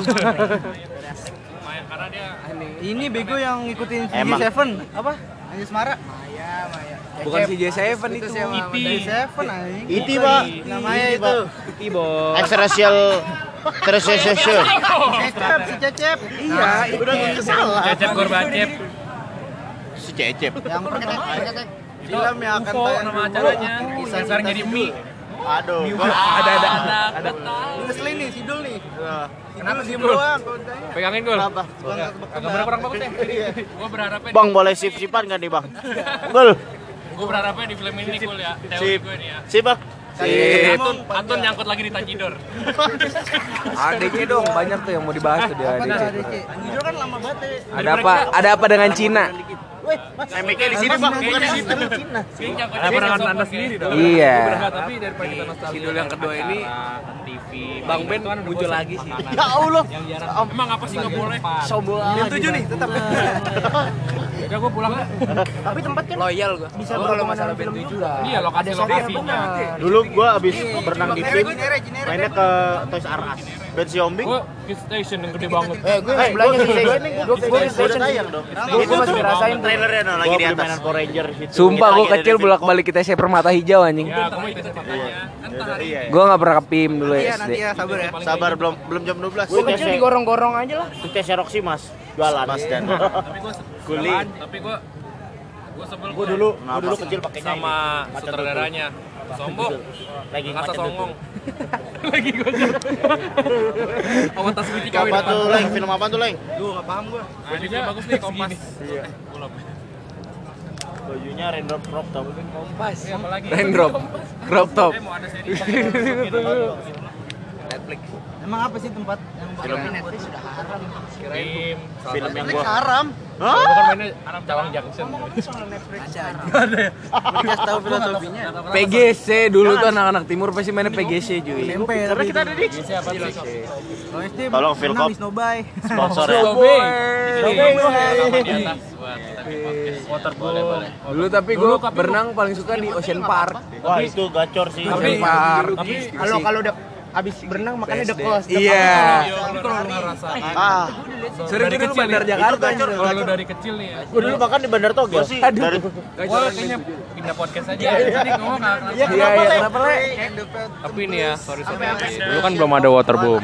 Speaker 1: lumayan karena dia
Speaker 4: Ini bego yang ngikutin
Speaker 2: Emang.
Speaker 4: Seven apa? Anjas Mara.
Speaker 3: Bukan si J tujuh itu.
Speaker 4: Seven anjing.
Speaker 2: Iti, Pak.
Speaker 4: Namanya
Speaker 2: Iti,
Speaker 4: itu.
Speaker 2: Pak. Extraterrestrial Terrestrial.
Speaker 4: Cecep, si Cecep.
Speaker 3: Iya,
Speaker 2: Udah nggak salah.
Speaker 1: Cecep Gorbacep.
Speaker 2: Si Cecep.
Speaker 4: Yang pertama film yang akan
Speaker 1: U F O
Speaker 4: tayang
Speaker 1: nama acaranya. Sekarang jadi mie.
Speaker 2: Aduh.
Speaker 3: ada ada ada.
Speaker 4: Ngeselin nih, Sidul nih.
Speaker 1: Kenapa sih
Speaker 4: Sidul
Speaker 1: bro?
Speaker 4: doang kalau ditanya.
Speaker 1: Pegangin gol.
Speaker 2: Kenapa?
Speaker 1: Agak berapa orang bagus ya? Gue berharapnya
Speaker 2: Bang boleh sip-sipan kan nih, Bang? Gol.
Speaker 1: gue berharapnya di film ini cool ya. Teori
Speaker 2: Sip.
Speaker 1: gue nih ya.
Speaker 2: Sip, Bang.
Speaker 1: Antun, Antun nyangkut lagi di Tanjidor.
Speaker 3: A D C dong, banyak tuh yang mau dibahas tuh di A D C.
Speaker 4: Sidul kan lama banget ya.
Speaker 3: Ada apa? Ada apa dengan Cina?
Speaker 2: Remeknya di sini, Bang, bukan di situ.
Speaker 1: Ada perangan anda sendiri dong.
Speaker 3: Iya.
Speaker 1: Tapi daripada kita nostalgia.
Speaker 3: Sidul yang kedua ini
Speaker 1: T V.
Speaker 3: Bang Ben muncul lagi sih.
Speaker 2: Ya Allah.
Speaker 1: Emang apa sih nggak boleh?
Speaker 3: Sombong.
Speaker 4: Yang tujuh nih, tetap.
Speaker 1: Udah gue pulang lah.
Speaker 4: Tapi tempat kan
Speaker 3: Loyal gua.
Speaker 4: bisa
Speaker 3: Gua kalau masalah Ben tujuh lah.
Speaker 1: Iya lokasi lokasinya.
Speaker 2: Dulu gua abis berenang di tim, mainnya ke Toys R Us. Ben Siombing.
Speaker 1: Gue Kids Station yang gede banget.
Speaker 3: Eh, gue
Speaker 2: Eh,
Speaker 3: sebelahnya
Speaker 2: gua
Speaker 3: sih.
Speaker 2: Kids Station,
Speaker 3: Gue
Speaker 2: Kids
Speaker 3: gue
Speaker 2: Station
Speaker 3: station
Speaker 2: udah tayang dong.
Speaker 3: Gue masih ngerasain tuh.
Speaker 2: Trailernya no, lagi di atas. Mainan Power Ranger situ.
Speaker 3: Sumpah gue
Speaker 2: Kita lagi
Speaker 3: kecil
Speaker 2: ada di
Speaker 3: bolak-balik kita saya Permata Hijau anjing.
Speaker 1: Ya, kamu ikut makanya. Entar
Speaker 2: Iya.
Speaker 3: Gue nggak pernah ke P I M dulu
Speaker 4: Iya
Speaker 3: S D.
Speaker 4: nanti ya, sabar ya.
Speaker 2: Sabar belum belum jam dua belas.
Speaker 3: Gue kecil digorong-gorong aja lah.
Speaker 2: Sukses Roxy, Mas. Jualan Mas dan
Speaker 1: Tapi gue
Speaker 2: Guli.
Speaker 1: Tapi gue gue sebel
Speaker 2: Gua dulu, gua dulu kecil pakainya
Speaker 1: sama sutradaranya. Sombong.
Speaker 2: lagi
Speaker 1: Ngasa
Speaker 2: macet
Speaker 1: songong. Lagi gue. Awat tas gue
Speaker 2: itu. Apa tuh, Leng? Film apa tuh, Leng?
Speaker 4: Duh, enggak paham gua.
Speaker 1: Nah, ini juga bagus nih Kompas. Iya.
Speaker 2: Bajunya raindrop crop top.
Speaker 3: Kompas.
Speaker 1: Ini apa lagi?
Speaker 3: Raindrop. Crop top.
Speaker 1: Eh, mau ada seri.
Speaker 3: Netflix.
Speaker 4: Emang apa sih tempat yang
Speaker 2: Film.
Speaker 4: Netflix sudah haram.
Speaker 1: Film.
Speaker 2: Film yang
Speaker 4: Netflix
Speaker 2: gua.
Speaker 4: haram.
Speaker 1: Gue kan mainnya Cawang Junction.
Speaker 4: Dikasih tahu filosofinya.
Speaker 3: P G C dulu tuh anak-anak timur pasti mainnya P G C cuy.
Speaker 4: Tempe
Speaker 2: Karena kita ada di
Speaker 1: Siapa sih?
Speaker 4: Kalau S D
Speaker 2: Tolong, Philcop.
Speaker 4: Snowbay.
Speaker 2: sponsor ya.
Speaker 1: Sobeng.
Speaker 2: Sobeng.
Speaker 1: Sama di atas buat water boleh boleh.
Speaker 3: Dulu tapi gue berenang paling suka di Ocean Park.
Speaker 2: Wah, itu gacor sih.
Speaker 3: Ocean Park.
Speaker 4: Kalau kalau udah habis berenang makanya udah kos.
Speaker 3: Iya.
Speaker 1: Tapi kalau lu ngerasa
Speaker 2: Ah,
Speaker 3: Sering
Speaker 1: dari
Speaker 3: dulu
Speaker 1: kecil
Speaker 3: Bandar
Speaker 1: nih,
Speaker 3: Jakarta.
Speaker 2: itu gacor.
Speaker 1: kalau lu dari kecil nih ya.
Speaker 2: gua dulu makan di Bandar Togel.
Speaker 3: Aduh.
Speaker 2: Dari
Speaker 1: Gue kayaknya pindah podcast aja. Tadi ngomong nggak kerasa.
Speaker 3: Iya, iya, kenapa le?
Speaker 1: Tapi nih ya, sorry sorry. Dulu kan belum ada waterboom.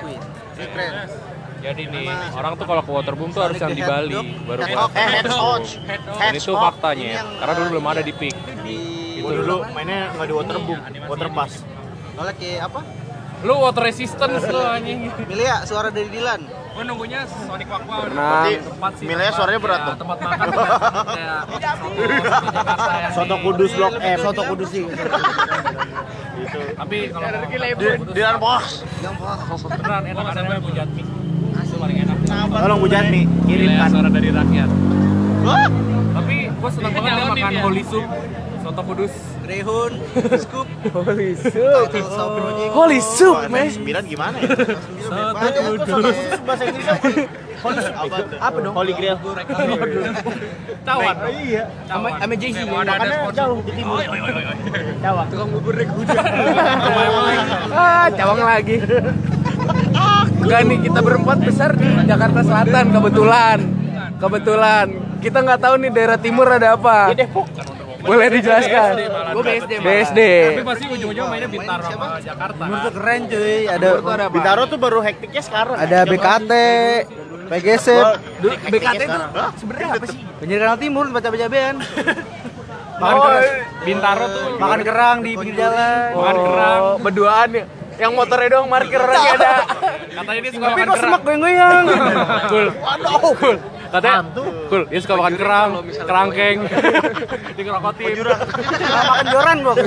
Speaker 1: Jadi nih, orang tuh kalau ke waterboom tuh harus yang di Bali baru
Speaker 2: eh
Speaker 1: buat.
Speaker 2: head coach.
Speaker 1: Dan itu faktanya ya, karena dulu belum ada di Peak.
Speaker 2: Gua dulu mainnya nggak di waterboom, water pass.
Speaker 4: Kalau kayak apa?
Speaker 1: Lu water resistance lu anjing.
Speaker 4: Milih ya suara dari Dilan.
Speaker 1: Gue nunggunya Sonic Wakwa.
Speaker 3: Nah,
Speaker 1: Tempat sih.
Speaker 2: Milenya suaranya berat
Speaker 1: Ya,
Speaker 2: tuh.
Speaker 1: tempat makan tuh kayak soto Jakarta yang
Speaker 2: Soto
Speaker 1: di-
Speaker 2: Kudus Blok M.
Speaker 4: Soto Kudus sih.
Speaker 2: Gitu.
Speaker 1: Tapi kalau mau
Speaker 2: Di Dilan Bos.
Speaker 1: beneran enak ada namanya Bujatmi. Itu paling enak.
Speaker 2: Tolong Bu Jatmi,
Speaker 1: Gila,
Speaker 2: kirimkan.
Speaker 1: suara dari rakyat.
Speaker 2: Wah,
Speaker 1: Tapi gue seneng banget ya makan holy soup, soto kudus.
Speaker 4: Rehun, Scoop,
Speaker 3: holy soup.
Speaker 4: Sound Project.
Speaker 3: Holy soup,
Speaker 2: Wah,
Speaker 3: man.
Speaker 2: sembilan gimana ya?
Speaker 1: Soto kudus.
Speaker 2: Bahasa Inggrisnya Holy apa tuh? Apa dong? Holy Grail.
Speaker 1: Cawan.
Speaker 2: Iya.
Speaker 1: Sama
Speaker 4: sama Jay-Z.
Speaker 1: Mau ada ada
Speaker 2: Makanya
Speaker 1: sponsor.
Speaker 2: jauh di timur. Cawang. Tukang bubur rek
Speaker 3: Ah, cawang lagi. Enggak nih, kita berempat besar di Jakarta Selatan kebetulan. Kebetulan. Kita nggak tahu nih daerah timur ada apa. Boleh dijelaskan?
Speaker 1: Gue B S D.
Speaker 3: B S D.
Speaker 1: Tapi pasti ujung-ujungnya mainnya Bintaro sama Jakarta.
Speaker 4: Timur tuh keren cuy. Ada
Speaker 2: Bintaro tuh baru hektiknya sekarang.
Speaker 4: ada B K T, P G S,
Speaker 2: B K T itu sebenarnya apa sih?
Speaker 4: Pinggir Kanal Timur baca bajabean.
Speaker 1: Makan kerang. Bintaro tuh
Speaker 4: Makan kerang di pinggir jalan.
Speaker 1: makan kerang.
Speaker 3: Oh, berduaan ya. Yang motornya doang parkir orangnya ada.
Speaker 1: Katanya dia suka
Speaker 4: Tapi
Speaker 1: makan
Speaker 4: kok
Speaker 1: kerang.
Speaker 4: semak goyang-goyang.
Speaker 1: Cool. Cool. Katanya, cool. Dia suka makan kerang, kerangkeng. Dikerokotin.
Speaker 4: Makan joran gua.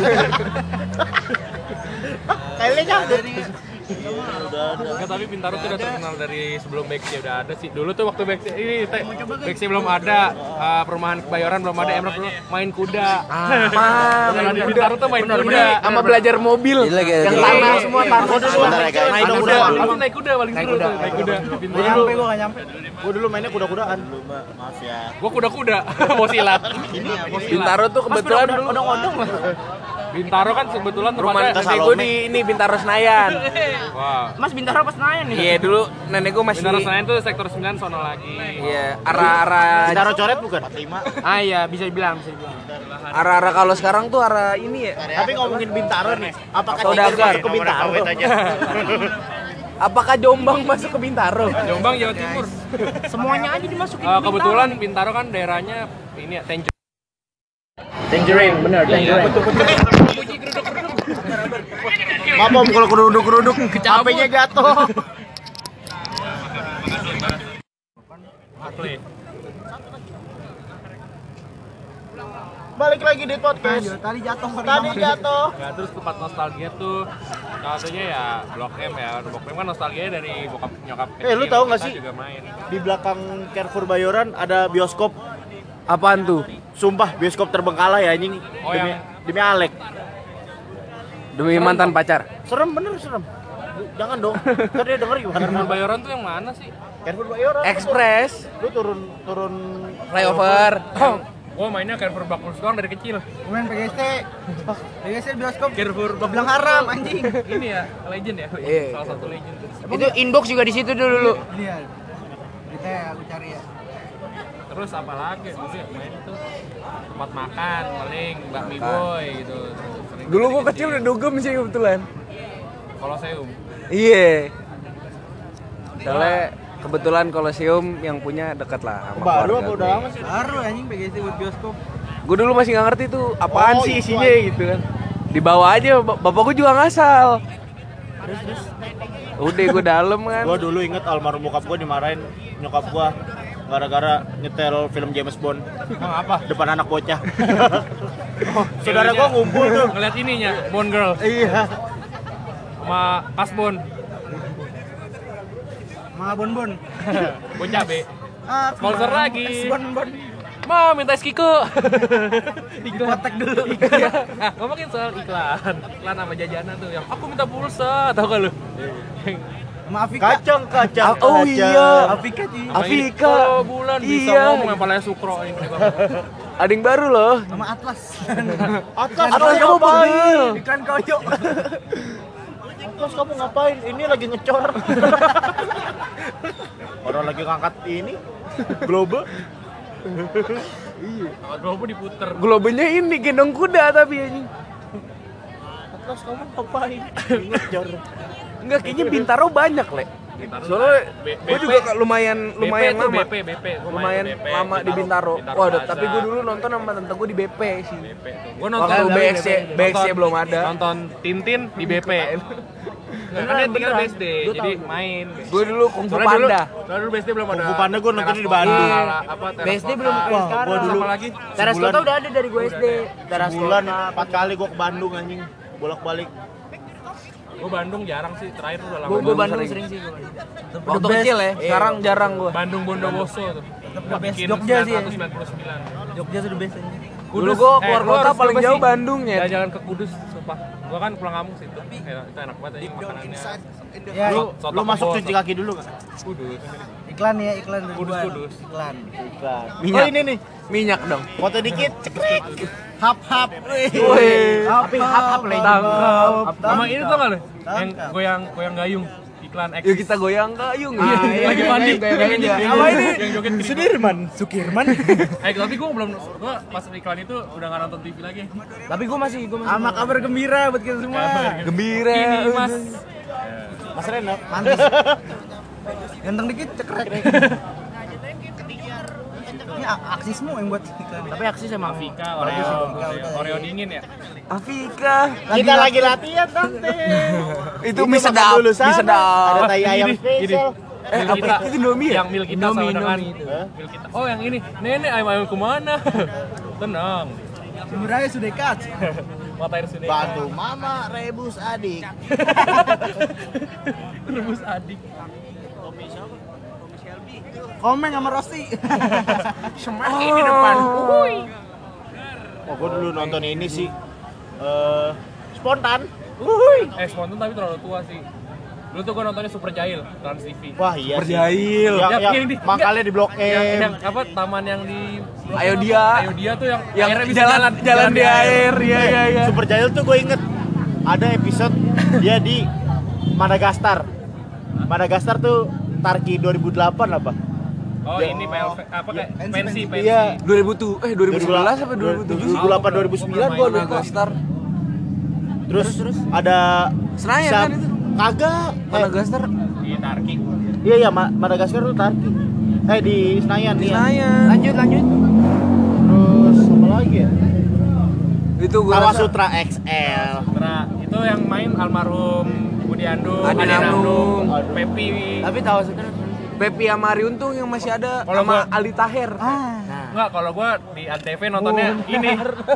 Speaker 2: Kayaknya jadi
Speaker 1: Nggak, tapi Bintaro tuh udah terkenal dari sebelum Bexy udah ada sih. Dulu tuh waktu Bexy ini teh, Bexy belum ada, uh, perumahan Kebayoran belum ada, Emrah belum main kuda.
Speaker 3: Apa?
Speaker 1: Kalau di Bintaro tuh main kuda.
Speaker 3: Sama belajar mobil. Yang tanah semua tanah.
Speaker 2: sebentar ya guys.
Speaker 1: Naik
Speaker 2: Naik
Speaker 1: kuda.
Speaker 2: kuda.
Speaker 1: Aku naik kuda paling seru tuh, naik kuda.
Speaker 4: Gak
Speaker 1: Bintaro.
Speaker 4: nyampe gua gak nyampe.
Speaker 2: Gua dulu mainnya kuda-kudaan. Maaf ya.
Speaker 1: Gua kuda-kuda, mau silat.
Speaker 3: Bintaro tuh kebetulan dulu
Speaker 2: Odong-odong lah.
Speaker 1: Bintaro kan kebetulan
Speaker 3: Rumah
Speaker 1: tempatnya
Speaker 3: nenek gue di ini Bintaro Senayan.
Speaker 1: Wah.
Speaker 7: Mas Bintaro pas Senayan nih.
Speaker 3: Iya dulu nenek gue masih.
Speaker 1: Bintaro Senayan tuh sektor sembilan sono lagi.
Speaker 3: Iya arah-arah
Speaker 2: Bintaro coret bukan? lima.
Speaker 7: Ah iya, bisa dibilang, bisa dibilang.
Speaker 3: arah-arah kalau sekarang tuh arah ini ya.
Speaker 2: Tapi ngomongin Bintaro nih, apakah
Speaker 3: Saudagar.
Speaker 2: Tiger masuk ke Bintaro?
Speaker 3: Apakah Jombang masuk ke Bintaro?
Speaker 1: Jombang Jawa Timur.
Speaker 7: Semuanya aja dimasukin.
Speaker 1: Eh, kebetulan Bintaro kan daerahnya ini ya Tangerine.
Speaker 7: Tangerine, bener, Tangerine.
Speaker 2: Maaf om kalau keruduk-keruduk, H P-nya jatuh. Balik lagi di podcast.
Speaker 4: Tadi jatuh.
Speaker 2: Tadi jatuh.
Speaker 1: Ya terus tempat nostalgia tuh salah satunya ya Blok M ya. Blok M kan nostalgianya dari bokap nyokap
Speaker 2: Eh, lu tahu nggak
Speaker 1: kita
Speaker 2: sih?
Speaker 1: juga main.
Speaker 2: Di belakang Carrefour Bayoran ada bioskop.
Speaker 3: Apaan tuh?
Speaker 2: Sumpah bioskop terbengkalai ya anjing.
Speaker 1: Oh,
Speaker 2: demi,
Speaker 1: yang-
Speaker 2: demi Alek.
Speaker 3: Demi mantan pacar.
Speaker 2: Serem bener serem. Jangan dong. Ntar dia denger gimana.
Speaker 1: Carrefour Bayoran tuh yang mana sih?
Speaker 2: Carrefour Bayoran.
Speaker 3: Express,
Speaker 2: Lu turun turun
Speaker 3: flyover.
Speaker 1: Oh mainnya Carrefour Bakus doang dari kecil.
Speaker 4: Main P G S T. P G S T bioskop.
Speaker 1: Carrefour
Speaker 4: Bilang haram anjing.
Speaker 1: Ini ya legend ya.
Speaker 3: Iya.
Speaker 1: Salah satu legend.
Speaker 7: Itu inbox juga di situ dulu.
Speaker 4: Lihat. Kita ya aku cari ya.
Speaker 1: Terus apa lagi? Dulu ya main tuh tempat makan paling bakmi boy gitu. Sering
Speaker 3: Dulu gua kecil udah dugem sih kebetulan.
Speaker 1: Koloseum.
Speaker 3: Iya. Soalnya kebetulan Kolosium yang punya dekat lah sama
Speaker 2: baru
Speaker 3: keluarga
Speaker 2: apa
Speaker 3: gue.
Speaker 2: udah lama sih?
Speaker 4: Baru anjing P G S T buat bioskop.
Speaker 3: Gue dulu masih nggak ngerti tuh apaan
Speaker 2: Oh,
Speaker 3: sih
Speaker 2: itu
Speaker 3: isinya gitu kan. Dibawa aja, bap- bapak gue juga ngasal. Udah gue dalam kan.
Speaker 2: Gua dulu inget almarhum bokap gua dimarahin nyokap gua gara-gara nyetel film James Bond.
Speaker 1: Emang apa?
Speaker 2: Depan anak bocah. Saudara gua ngumpul tuh.
Speaker 1: Ngeliat ininya, Bond Girl
Speaker 2: Iya.
Speaker 1: sama Kasbon.
Speaker 4: Mga bonbon.
Speaker 1: Bocah be.
Speaker 4: Ah,
Speaker 1: Sponsor lagi.
Speaker 4: Bonbon.
Speaker 1: Ma, minta es Kiko.
Speaker 4: Iklan. Kotek dulu.
Speaker 1: Nah, ngomongin soal iklan. Iklan sama jajanan tuh yang aku minta pulsa, tau gak lu?
Speaker 4: Sama Afika.
Speaker 2: Kacang kacang.
Speaker 3: Oh
Speaker 2: kacang.
Speaker 3: iya.
Speaker 4: Afika sih.
Speaker 3: Afika.
Speaker 1: Kalau bulan bisa
Speaker 3: Iya.
Speaker 1: ngomong yang palanya Sukro ini.
Speaker 3: Ada yang baru loh.
Speaker 4: Sama Atlas.
Speaker 2: Atlas,
Speaker 3: Atlas kamu panggil.
Speaker 4: Iklan koyo.
Speaker 2: Atlas kamu ngapain? Ini lagi ngecor. Orang lagi ngangkat ini globe.
Speaker 1: Kalau Globo diputer.
Speaker 3: Globenya ini gendong kuda tapi anjing.
Speaker 2: Atlas kamu ngapain? Ini ngecor.
Speaker 3: Enggak kayaknya Bintaro banyak, Le. Soalnya
Speaker 1: B-
Speaker 3: gue
Speaker 1: BP.
Speaker 3: juga lumayan lumayan
Speaker 1: B P tuh,
Speaker 3: lama.
Speaker 1: B P, B P. Gua main
Speaker 3: Lumayan
Speaker 1: B P,
Speaker 3: lama di Bintaro.
Speaker 1: Bintaro
Speaker 3: Waduh,
Speaker 1: Plaza.
Speaker 3: tapi gue dulu nonton sama tante gue di B P sih.
Speaker 1: B P tuh. Gua
Speaker 3: Waktu
Speaker 1: nonton
Speaker 3: B X C, B X C belum ada.
Speaker 1: Nonton Tintin di B P. Nah, kan dia tinggal B S D, jadi main.
Speaker 3: Gue dulu Kung Fu
Speaker 1: Soalnya dulu-
Speaker 3: Panda.
Speaker 1: Soalnya dulu B S D belum ada.
Speaker 2: Kung Fu Panda gua nontonnya di
Speaker 1: teras
Speaker 2: Bandung.
Speaker 1: kota, apa, teras
Speaker 7: B S D belum
Speaker 1: kota.
Speaker 7: kayak
Speaker 2: Wah,
Speaker 7: sekarang.
Speaker 2: gua dulu
Speaker 1: Sama lagi.
Speaker 7: Teras
Speaker 2: sebulan-
Speaker 7: kota udah ada dari gue S D. Teras
Speaker 2: Sebulan
Speaker 7: kota.
Speaker 2: empat kali gua ke Bandung anjing. Bolak-balik.
Speaker 1: Gua Bandung jarang sih, terakhir udah lama.
Speaker 7: Gue
Speaker 3: Bandung
Speaker 7: Bandung
Speaker 3: sering.
Speaker 7: sering sih gue.
Speaker 3: Waktu kecil ya, sekarang jarang gue.
Speaker 1: Bandung Bondowoso tuh. Bikin
Speaker 4: Jogja sih ya.
Speaker 1: sembilan ratus sembilan puluh sembilan.
Speaker 4: Jogja sudah best anjing.
Speaker 3: Dulu gue keluar
Speaker 1: lu
Speaker 3: kota
Speaker 1: harus
Speaker 3: paling
Speaker 1: coba
Speaker 3: jauh
Speaker 1: sih.
Speaker 3: Bandung ya.
Speaker 1: Jalan-jalan ke Kudus, sumpah. Gua kan pulang kampung situ. Ya, itu enak banget aja makanannya.
Speaker 4: Ya,
Speaker 2: Lu
Speaker 1: Soto
Speaker 2: lu masuk
Speaker 1: kebon.
Speaker 2: cuci kaki dulu enggak?
Speaker 1: Kudus.
Speaker 4: iklan ya, iklan dari
Speaker 1: Kudus,
Speaker 4: gua.
Speaker 1: kudus.
Speaker 4: Iklan.
Speaker 2: Bukan.
Speaker 3: Minyak.
Speaker 2: Oh ini nih.
Speaker 3: Minyak dong.
Speaker 2: Foto dikit. Cekrek. Hap hap.
Speaker 3: Wih.
Speaker 4: Tapi hap-hap
Speaker 3: Tangkap.
Speaker 1: Sama ini tuh nggak lu? Yang goyang goyang gayung iklan X.
Speaker 3: Yuk kita goyang gayung.
Speaker 4: Ah, iya,
Speaker 1: Lagi
Speaker 4: iya,
Speaker 1: mandi.
Speaker 4: iya, iya, iya, iya.
Speaker 1: Apa ini? Yang joget Kribo.
Speaker 2: Sudirman. Sukirman.
Speaker 1: Eh tapi gua belum gua pas iklan itu udah nggak nonton T V lagi.
Speaker 7: Tapi gue masih, gue masih.
Speaker 4: Sama kabar gembira buat kita semua.
Speaker 3: Gembira.
Speaker 1: Ini Mas.
Speaker 2: Mas Reno.
Speaker 4: Mantis. Ganteng dikit cekrek. Ini a- aksismu yang buat iklan.
Speaker 7: Tapi aksi sama
Speaker 1: Vika, Oreo, Oreo, Oreo dingin ya.
Speaker 3: Afika.
Speaker 2: Kita lagi latihan tante.
Speaker 3: Itu mie sedap,
Speaker 2: dulu
Speaker 3: mie
Speaker 2: sana.
Speaker 3: sedap.
Speaker 2: Ada tai ayam
Speaker 1: Gini,
Speaker 2: spesial.
Speaker 3: Eh,
Speaker 1: Mil
Speaker 3: apa
Speaker 1: kita,
Speaker 3: itu Indomie ya?
Speaker 1: yang mil kita
Speaker 7: Indomie,
Speaker 1: sama dengan
Speaker 7: Indomie itu.
Speaker 1: mil kita. Oh yang ini, nenek ayam ayam kemana? Tenang,
Speaker 4: Sumber aja sudah cut.
Speaker 1: mata air sudah.
Speaker 2: Bantu mama rebus adik.
Speaker 1: Rebus adik.
Speaker 4: Komen sama Rosti.
Speaker 1: Semakin di depan. Uhuy.
Speaker 2: Oh, gua dulu nonton ini sih. Eh, spontan.
Speaker 1: Eh spontan tapi terlalu tua sih. Dulu tuh gue nontonnya Super Jail, Trans T V.
Speaker 2: Wah iya sih.
Speaker 3: Berjahil.
Speaker 2: Yang,
Speaker 1: Yang-
Speaker 2: yang
Speaker 1: yang di-
Speaker 2: makalnya di Blok
Speaker 1: Yang,
Speaker 2: M.
Speaker 1: yang apa taman yang di
Speaker 3: Ayo dia.
Speaker 1: Ayo dia tuh yang,
Speaker 3: Yang
Speaker 1: airnya bisa
Speaker 3: jalan jalan di air. Iya iya iya.
Speaker 2: Super Jail tuh gue inget ada episode dia di Madagaskar. Madagaskar tuh Tarki dua ribu delapan apa?
Speaker 1: Oh
Speaker 2: Ya.
Speaker 1: ini P L V apa kayak pensi pensi.
Speaker 2: Iya.
Speaker 3: dua ribu tujuh eh dua ribu sebelas apa dua ribu tujuh?
Speaker 2: dua ribu delapan dua ribu sembilan gue lupa.
Speaker 3: Madagaskar.
Speaker 2: Terus, ada
Speaker 3: Senayan
Speaker 2: siap-
Speaker 3: kan itu?
Speaker 2: Kagak. Eh,
Speaker 3: Madagaskar.
Speaker 1: Di Tarki.
Speaker 2: iya iya Ma- Madagaskar tuh Tarki. Eh di Senayan nih. Ya.
Speaker 3: Senayan.
Speaker 7: Lanjut lanjut.
Speaker 2: Terus apa lagi ya?
Speaker 3: Itu gua
Speaker 2: Tawa
Speaker 3: rasa
Speaker 2: Sutra X L.
Speaker 1: Nah, itu yang main almarhum Budi Andung,
Speaker 3: Adi
Speaker 1: Adi
Speaker 3: Andung,
Speaker 1: Andung, Pepi.
Speaker 7: Tapi tahu sekarang.
Speaker 3: Pepi sama Ari Untung yang masih ada
Speaker 1: Kalau
Speaker 3: sama
Speaker 1: gua-
Speaker 3: Ali Taher.
Speaker 1: Enggak, kalau gua di Antv nontonnya ini.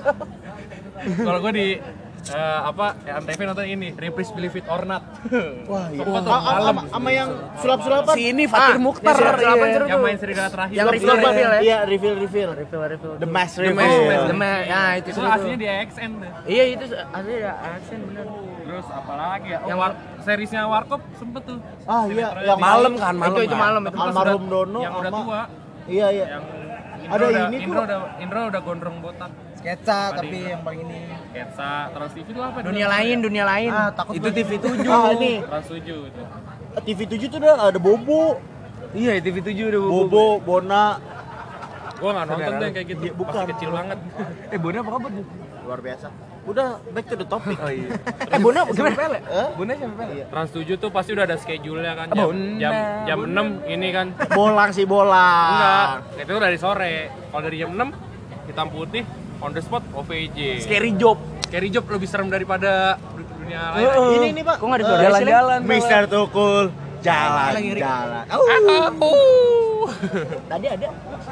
Speaker 1: Kalau gua di eh, apa ya, Antv nonton ini, Reprise Believe It or Not.
Speaker 2: Wah, iya.
Speaker 1: Sumpah tuh,
Speaker 2: Ah, ah,
Speaker 1: malam.
Speaker 2: sama- sama yang sulap-sulapan.
Speaker 3: Si ini Fatir Mukhtar.
Speaker 7: yang sulap-sulapan
Speaker 3: iya.
Speaker 7: seru
Speaker 1: Yang
Speaker 7: tuh.
Speaker 1: main serigala terakhir.
Speaker 7: Yang
Speaker 1: Sulap-sulapan.
Speaker 7: reveal reveal ya.
Speaker 2: Iya, reveal reveal.
Speaker 7: Reveal reveal.
Speaker 2: The Mask
Speaker 3: The
Speaker 2: Reveal.
Speaker 3: Mask.
Speaker 7: The Man. Ya itu
Speaker 1: Itu
Speaker 7: seru
Speaker 1: aslinya
Speaker 7: tuh.
Speaker 1: di A X N tuh.
Speaker 7: Iya itu asli ya aksen bener.
Speaker 1: Terus apalagi ya? Oh,
Speaker 7: Yang-
Speaker 1: war- seriesnya Warkop sempet tuh.
Speaker 2: Ah iya, yang
Speaker 3: Malam kan, malam.
Speaker 7: Itu itu
Speaker 3: kan?
Speaker 7: malam itu.
Speaker 2: Almarhum Dono
Speaker 1: Yang udah
Speaker 2: sama-
Speaker 1: tua.
Speaker 2: Iya iya.
Speaker 1: Yang
Speaker 2: Ada
Speaker 1: Indro udah,
Speaker 2: ini
Speaker 1: Indro
Speaker 2: kok.
Speaker 1: udah Indro udah gondrong botak.
Speaker 4: Sketsa
Speaker 1: Tadi.
Speaker 4: tapi yang paling ini.
Speaker 1: Sketsa, Trans T V itu apa?
Speaker 7: Dunia lain, dunia lain.
Speaker 4: Ah, takut
Speaker 3: Itu T V
Speaker 4: banget.
Speaker 3: tujuh.
Speaker 2: Ah ini
Speaker 1: Trans tujuh itu.
Speaker 2: T V tujuh tuh udah ada Bobo,
Speaker 3: Iya, T V tujuh udah bobo.
Speaker 2: Bobo, Bona.
Speaker 1: Gua nggak nonton tuh yang kayak gitu.
Speaker 2: Iya, bukan.
Speaker 1: Masih kecil banget.
Speaker 3: Eh, Bona apa kabar?
Speaker 2: Luar biasa. Udah back to the topic.
Speaker 3: Oh iya.
Speaker 7: Eh Bona gimana?
Speaker 3: Pele?
Speaker 2: Eh?
Speaker 3: Bona siapa Pele?
Speaker 2: Iya.
Speaker 1: Trans tujuh tuh pasti udah ada schedule-nya kan jam
Speaker 3: Bona,
Speaker 1: jam jam
Speaker 3: Bona.
Speaker 1: enam ini kan.
Speaker 2: Bolang sih bolang.
Speaker 1: Enggak, itu dari sore. Kalau dari jam enam hitam putih on the spot O V J.
Speaker 3: Scary Job.
Speaker 1: Scary Job lebih serem daripada dunia lain.
Speaker 3: Heeh.
Speaker 2: Ini nih, Pak.
Speaker 7: Kok nggak
Speaker 2: Eh,
Speaker 7: disuarain?
Speaker 3: Jalan-jalan.
Speaker 2: Mister Tukul jalan-jalan. Oh.
Speaker 1: Uh.
Speaker 2: Tadi ada.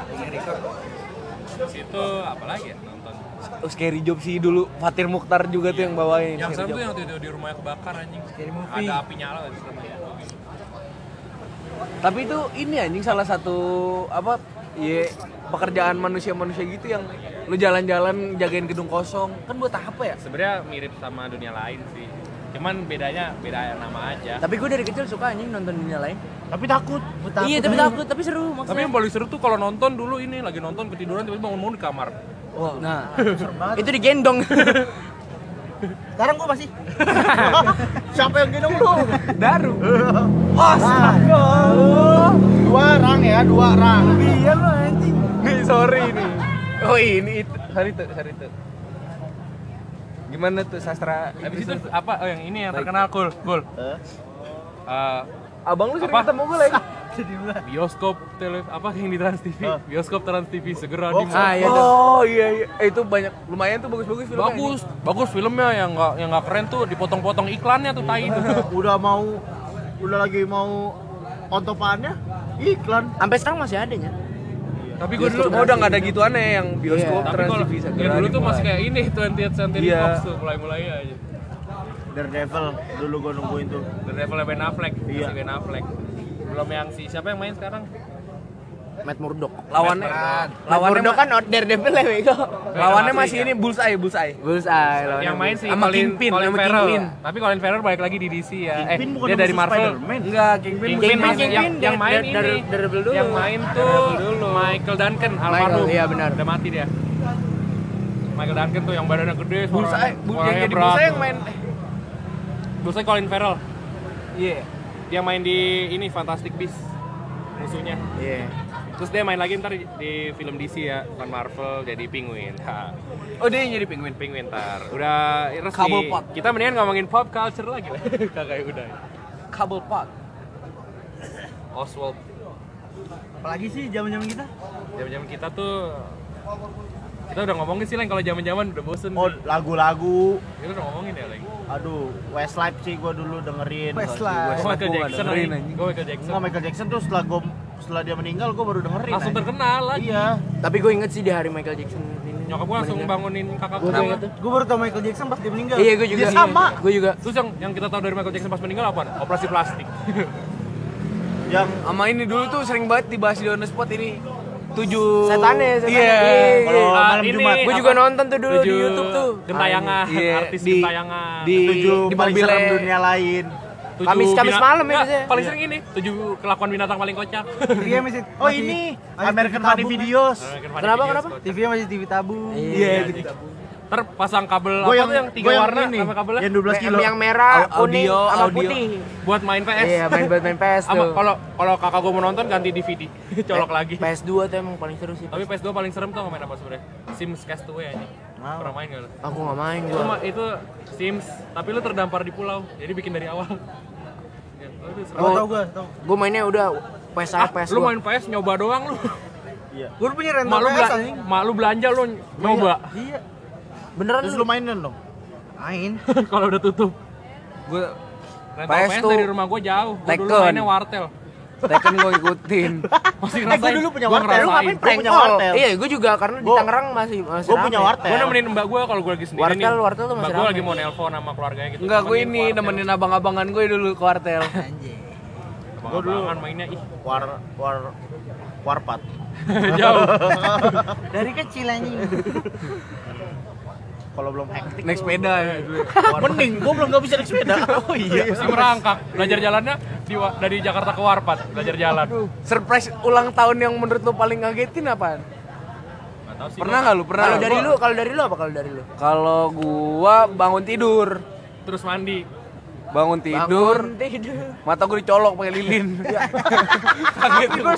Speaker 1: Terus itu apa lagi ya nonton?
Speaker 3: Oh, Scary Job sih dulu. Fatir Mukhtar juga tuh yang bawain.
Speaker 1: Yang
Speaker 3: Scary
Speaker 1: serem
Speaker 3: Job.
Speaker 1: tuh yang waktu itu di rumahnya kebakar anjing.
Speaker 4: Scary movie.
Speaker 1: Ada api nyala kan serem ya.
Speaker 3: Tapi itu ini anjing salah satu apa? Iya, pekerjaan manusia-manusia gitu yang lu jalan-jalan jagain gedung kosong. Kan buat apa ya?
Speaker 1: Sebenarnya mirip sama dunia lain sih. Cuman bedanya beda nama aja.
Speaker 7: Tapi gue dari kecil suka anjing nonton dunia lain.
Speaker 2: Tapi takut.
Speaker 7: Iya tapi takut, tapi seru
Speaker 1: Tapi
Speaker 7: maksudnya.
Speaker 1: yang paling seru tuh kalau nonton dulu ini lagi nonton ketiduran tiba-tiba bangun-bangun di kamar.
Speaker 3: Wah.
Speaker 7: Nah, itu digendong.
Speaker 4: Sekarang gua masih.
Speaker 2: Siapa yang gendong lu?
Speaker 3: Daru.
Speaker 2: Dua rang ya, dua rang.
Speaker 3: Iya lu anjing. Nih, sorry nih. Oh, ini itu. Sorry tuh, sorry tuh. Gimana tuh sastra?
Speaker 1: Habis itu apa? Oh yang ini yang terkenal cool, cool.
Speaker 2: Eh?
Speaker 1: Eh,
Speaker 3: Abang lu sering
Speaker 1: Apa?
Speaker 3: ketemu gue lagi.
Speaker 1: bioskop tele apa yang di Trans T V? Bioskop Trans T V segera
Speaker 2: Oh,
Speaker 1: di
Speaker 7: Ah iya tuh.
Speaker 3: Oh iya iya. Eh, itu banyak lumayan tuh bagus-bagus filmnya.
Speaker 1: bagus, bagus filmnya yang nggak yang nggak keren tuh dipotong-potong iklannya tuh tai itu.
Speaker 2: Udah mau udah lagi mau ontopannya iklan.
Speaker 7: Sampai sekarang masih ada nya.
Speaker 1: Tapi gue dulu
Speaker 3: Oh, udah nggak ada gituannya yang bioskop
Speaker 1: tapi
Speaker 3: Trans
Speaker 1: kalau
Speaker 3: T V segera.
Speaker 1: ya dulu tuh
Speaker 3: dimulai.
Speaker 1: masih kayak ini twentieth Century
Speaker 3: Iya.
Speaker 1: Fox tuh mulai-mulai aja.
Speaker 2: Daredevil dulu gua nungguin tuh.
Speaker 1: The Devil Ben Affleck,
Speaker 2: Iya.
Speaker 1: si Ben Affleck. Belum yang si siapa yang main sekarang?
Speaker 7: Matt Murdock.
Speaker 3: lawannya
Speaker 7: Matt
Speaker 3: lawannya
Speaker 7: Murdock kan Daredevil ya bego.
Speaker 3: lawannya masih ini Bullseye, Bullseye.
Speaker 7: Bullseye lawan
Speaker 1: Yang main si
Speaker 7: sama
Speaker 1: Colin,
Speaker 7: Kingpin,
Speaker 1: Colin
Speaker 7: sama
Speaker 1: Farrell.
Speaker 7: Kingpin.
Speaker 1: Tapi Colin Farrell balik lagi di D C ya.
Speaker 2: Kingpin
Speaker 1: eh,
Speaker 2: bukan
Speaker 1: dia dari
Speaker 2: musuh
Speaker 1: Marvel.
Speaker 2: Spider-Man.
Speaker 3: Enggak, Kingpin.
Speaker 1: Kingpin,
Speaker 7: Kingpin,
Speaker 1: yang, yang,
Speaker 7: Kingpin,
Speaker 1: yang main
Speaker 7: Dar-
Speaker 1: ini.
Speaker 7: Dar- Daredevil dulu.
Speaker 1: Yang main tuh Michael Duncan, almarhum.
Speaker 7: iya benar.
Speaker 1: Udah mati dia. Michael Duncan tuh yang badannya gede,
Speaker 3: Bullseye,
Speaker 1: suaranya-
Speaker 3: Bu- yang
Speaker 1: suaranya
Speaker 3: jadi
Speaker 1: berat
Speaker 3: Bullseye
Speaker 1: tuh.
Speaker 3: yang main.
Speaker 1: Bullseye Colin Farrell.
Speaker 3: Iya.
Speaker 1: Dia main di ini Fantastic Beasts musuhnya.
Speaker 7: Iya.
Speaker 1: Terus dia main lagi ntar di, di film D C ya, bukan Marvel, jadi Penguin. Ha.
Speaker 3: Oh, dia yang jadi penguin.
Speaker 1: Penguin ntar. Udah resmi.
Speaker 3: Cobblepot.
Speaker 1: Kita mendingan ngomongin pop culture lagi lah. Kagak udah.
Speaker 3: Kabel pot.
Speaker 1: Oswald.
Speaker 4: Apalagi sih zaman-zaman kita?
Speaker 1: Zaman-zaman kita tuh kita udah ngomongin sih Leng, kalau zaman-zaman udah bosen.
Speaker 2: Oh,
Speaker 1: nih.
Speaker 2: lagu-lagu.
Speaker 1: Kita udah ngomongin ya Leng.
Speaker 2: Aduh, Westlife sih gua dulu dengerin.
Speaker 4: Westlife.
Speaker 1: Gue Michael
Speaker 3: gua nggak
Speaker 1: Jackson
Speaker 3: dengerin,
Speaker 1: anjing.
Speaker 3: anjing.
Speaker 1: Gue Michael Jackson.
Speaker 2: Enggak, Michael Jackson tuh setelah gua setelah dia meninggal gua baru dengerin.
Speaker 1: Langsung
Speaker 2: anjing.
Speaker 1: terkenal lagi.
Speaker 2: Iya.
Speaker 7: Tapi gue inget sih di hari Michael Jackson ini.
Speaker 1: Nyokap gue langsung bangunin kakak
Speaker 7: Gue
Speaker 1: gue.
Speaker 7: inget tuh.
Speaker 4: Gue baru tau Michael Jackson pas dia meninggal.
Speaker 7: Iya gue juga.
Speaker 2: Dia sama.
Speaker 7: Gue juga.
Speaker 1: Terus yang yang kita tahu dari Michael Jackson pas meninggal apa? Operasi plastik.
Speaker 2: Yang
Speaker 3: Sama ini dulu tuh sering banget dibahas di On The Spot ini. Tujuh
Speaker 7: Setannya, setannya.
Speaker 3: Iya.
Speaker 2: Kalau
Speaker 1: Ah,
Speaker 2: malam
Speaker 1: ini
Speaker 2: Jumat.
Speaker 7: Gue
Speaker 1: apa?
Speaker 7: juga nonton tuh dulu di
Speaker 1: Tujuh
Speaker 7: YouTube tuh.
Speaker 1: Gentayangan,
Speaker 3: Iya,
Speaker 1: artis
Speaker 3: di-
Speaker 1: gentayangan.
Speaker 3: di
Speaker 2: tujuh
Speaker 3: di
Speaker 2: paling
Speaker 3: mobilnya.
Speaker 2: serem dunia lain.
Speaker 1: tujuh
Speaker 7: Kamis- Kamis
Speaker 1: bina-
Speaker 7: malam ya
Speaker 1: Nggak,
Speaker 7: biasanya.
Speaker 1: paling sering ini tujuh kelakuan binatang paling kocak.
Speaker 4: T V-nya masih
Speaker 2: Oh
Speaker 4: masih-
Speaker 2: ini
Speaker 4: masih
Speaker 2: American
Speaker 4: T V
Speaker 2: Funny
Speaker 4: tabung,
Speaker 2: Videos.
Speaker 7: Kenapa, kenapa?
Speaker 4: T V-nya masih T V tabung.
Speaker 7: Iya.
Speaker 1: Ntar pasang kabel
Speaker 2: Gue
Speaker 1: apa
Speaker 2: yang
Speaker 1: tuh yang tiga
Speaker 2: gua yang
Speaker 1: warna
Speaker 2: ini,
Speaker 1: sama kabelnya
Speaker 2: yang dua belas kilo.
Speaker 7: Yang merah, kuning,
Speaker 6: Audio,
Speaker 7: sama
Speaker 6: audio.
Speaker 7: putih.
Speaker 1: buat main P S.
Speaker 7: Iya, main buat main P S
Speaker 1: Sama
Speaker 7: tuh.
Speaker 1: kalau kalau kakak gue mau nonton ganti D V D, colok lagi.
Speaker 7: P S dua tuh emang paling seru sih.
Speaker 1: Tapi P S dua paling serem tuh main apa sebenarnya? Sims Castaway aja. Pernah main nggak lo?
Speaker 7: Aku nggak main
Speaker 1: Itu,
Speaker 7: gua.
Speaker 1: ma- itu Sims, tapi lu terdampar di pulau, jadi bikin dari awal. Ya, oh, itu seru.
Speaker 4: Oh, tau gua, tau.
Speaker 7: Gua mainnya udah P S
Speaker 1: Ah,
Speaker 7: A, P S
Speaker 1: lu
Speaker 7: dua.
Speaker 1: main P S nyoba doang lu.
Speaker 4: Gua punya rental
Speaker 1: Mak lu,
Speaker 4: P S
Speaker 1: bela-
Speaker 4: anjing.
Speaker 1: mak lu belanja lu nyoba.
Speaker 4: Iya.
Speaker 7: Beneran
Speaker 2: Terus
Speaker 7: lu?
Speaker 2: lu mainin dong.
Speaker 4: Main.
Speaker 1: Kalau udah tutup.
Speaker 6: Gue
Speaker 1: Rental
Speaker 6: P S
Speaker 1: P S
Speaker 6: tuh
Speaker 1: dari rumah gua jauh. Gua dulu
Speaker 6: Tekken.
Speaker 1: mainnya wartel.
Speaker 6: Tekken gue ikutin.
Speaker 1: Masih
Speaker 2: Eh,
Speaker 1: ngerasain.
Speaker 2: gua dulu punya
Speaker 1: Gua
Speaker 2: wartel.
Speaker 1: ngerasain.
Speaker 2: Lu ngapain
Speaker 7: Prank
Speaker 2: punya
Speaker 7: call.
Speaker 2: wartel.
Speaker 7: Iya, gua juga karena di
Speaker 2: Gua-
Speaker 7: Tangerang masih masih
Speaker 2: Gue punya
Speaker 7: rame.
Speaker 2: wartel.
Speaker 1: Gua nemenin mbak gua kalau gua lagi sendiri
Speaker 7: Wartel,
Speaker 1: nih.
Speaker 7: wartel tuh masih
Speaker 1: Mbak gua
Speaker 7: rame.
Speaker 1: lagi mau nelpon sama keluarganya gitu.
Speaker 6: Enggak, gue
Speaker 1: Temenin
Speaker 6: ini
Speaker 1: wartel.
Speaker 6: nemenin abang-abangan gue dulu ke wartel.
Speaker 2: Gua dulu
Speaker 1: Abang-abangan mainnya ih
Speaker 2: war war warpat.
Speaker 1: jauh.
Speaker 4: Dari kecil anjing.
Speaker 2: Kalau belum hektik.
Speaker 6: Naik sepeda ya.
Speaker 2: Mending gua belum nggak bisa naik sepeda. Oh iya.
Speaker 1: Masih merangkak. Belajar jalannya di wa- dari Jakarta ke Warpat, belajar jalan.
Speaker 6: Surprise ulang tahun yang menurut lu paling ngagetin apaan?
Speaker 1: Nggak tahu sih.
Speaker 6: Pernah nggak lu? Pernah.
Speaker 7: Kalau
Speaker 6: nggak?
Speaker 7: dari lu, kalau dari lu apa kalau dari lu?
Speaker 6: Kalau gua bangun tidur,
Speaker 1: Terus mandi.
Speaker 6: bangun tidur,
Speaker 7: Bangun tidur.
Speaker 6: mata gue dicolok pakai lilin. Kaget gue.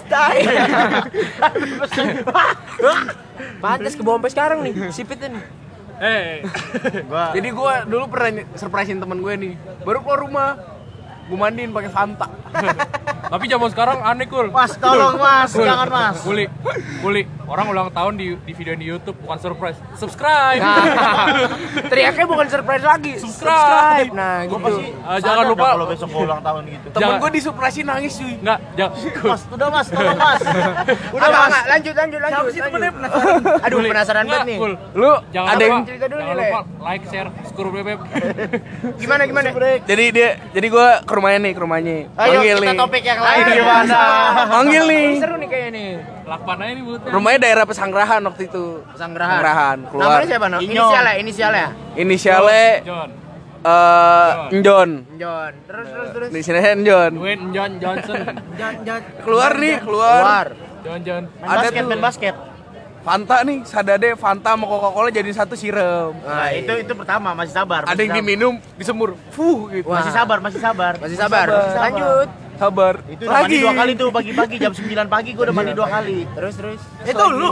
Speaker 7: Pantes ke bawah sampai sekarang nih, sipitnya nih.
Speaker 1: Eh,
Speaker 2: Gua
Speaker 6: Jadi gua dulu pernah ny- surprisein temen gue nih. Baru keluar rumah, gue mandiin pakai Fanta.
Speaker 1: tapi zaman sekarang aneh kul.
Speaker 2: Mas, tolong Mas, jangan Mas.
Speaker 1: Kuli, kuli. Orang ulang tahun di, di video di YouTube bukan surprise. Subscribe.
Speaker 7: Nah, teriaknya bukan surprise lagi.
Speaker 1: Subscribe.
Speaker 7: Nah,
Speaker 2: Gua
Speaker 7: gitu.
Speaker 2: pasti
Speaker 1: Ah, jangan
Speaker 2: sadar
Speaker 1: lupa.
Speaker 2: dah kalau besok gua ulang tahun gitu.
Speaker 6: Temen
Speaker 1: Jangan.
Speaker 6: gue disurprisein nangis cuy.
Speaker 1: Enggak, jangan.
Speaker 2: Mas, udah Mas, tolong Mas. Udah
Speaker 7: Enggak,
Speaker 2: Mas.
Speaker 7: enggak, lanjut lanjut lanjut.
Speaker 4: Siapa sih
Speaker 7: lanjut.
Speaker 4: temennya penasaran?
Speaker 7: Aduh, penasaran banget nih.
Speaker 1: Kul.
Speaker 6: Lu
Speaker 1: Jangan
Speaker 6: ada
Speaker 1: lupa,
Speaker 6: yang
Speaker 7: cerita dulu
Speaker 1: jangan
Speaker 7: nih,
Speaker 1: lupa like, share, skru bebek.
Speaker 7: Gimana gimana?
Speaker 6: jadi dia jadi gue ke rumahnya nih, ke rumahnya.
Speaker 2: Ayo
Speaker 6: Manggil
Speaker 2: kita
Speaker 6: nih.
Speaker 2: topik yang lain gimana?
Speaker 6: Manggil nih.
Speaker 7: Seru nih kayaknya nih.
Speaker 1: Lakpan aja nih buatnya.
Speaker 6: Rumahnya daerah Pesanggerahan waktu itu.
Speaker 7: Pesanggerahan.
Speaker 6: Pesanggerahan, keluar.
Speaker 7: Namanya siapa? No?
Speaker 2: Inyo.
Speaker 7: Inisialnya, inisialnya.
Speaker 6: Inisialnya
Speaker 1: John.
Speaker 6: eh Njon.
Speaker 7: John. Terus terus terus.
Speaker 6: Inisialnya Njon.
Speaker 1: Dwayne John Johnson.
Speaker 4: Jangan jangan
Speaker 6: Keluar nih, keluar.
Speaker 7: Keluar.
Speaker 1: John John.
Speaker 2: Main
Speaker 6: Ada
Speaker 2: basket,
Speaker 6: tuh.
Speaker 2: main basket.
Speaker 6: Fanta nih, sadade Fanta sama Coca-Cola jadi satu siram.
Speaker 2: Nah, itu itu pertama, masih sabar.
Speaker 6: Ada
Speaker 2: masih
Speaker 6: yang
Speaker 2: sabar.
Speaker 6: diminum, disemur. Fuh gitu.
Speaker 7: Wah.
Speaker 2: Masih sabar, masih sabar.
Speaker 7: Masih sabar.
Speaker 2: sabar.
Speaker 7: Lanjut.
Speaker 6: Sabar.
Speaker 2: Itu udah mandi dua kali tuh pagi-pagi jam sembilan pagi gua udah mandi dua kali.
Speaker 7: Terus terus.
Speaker 4: itu lu.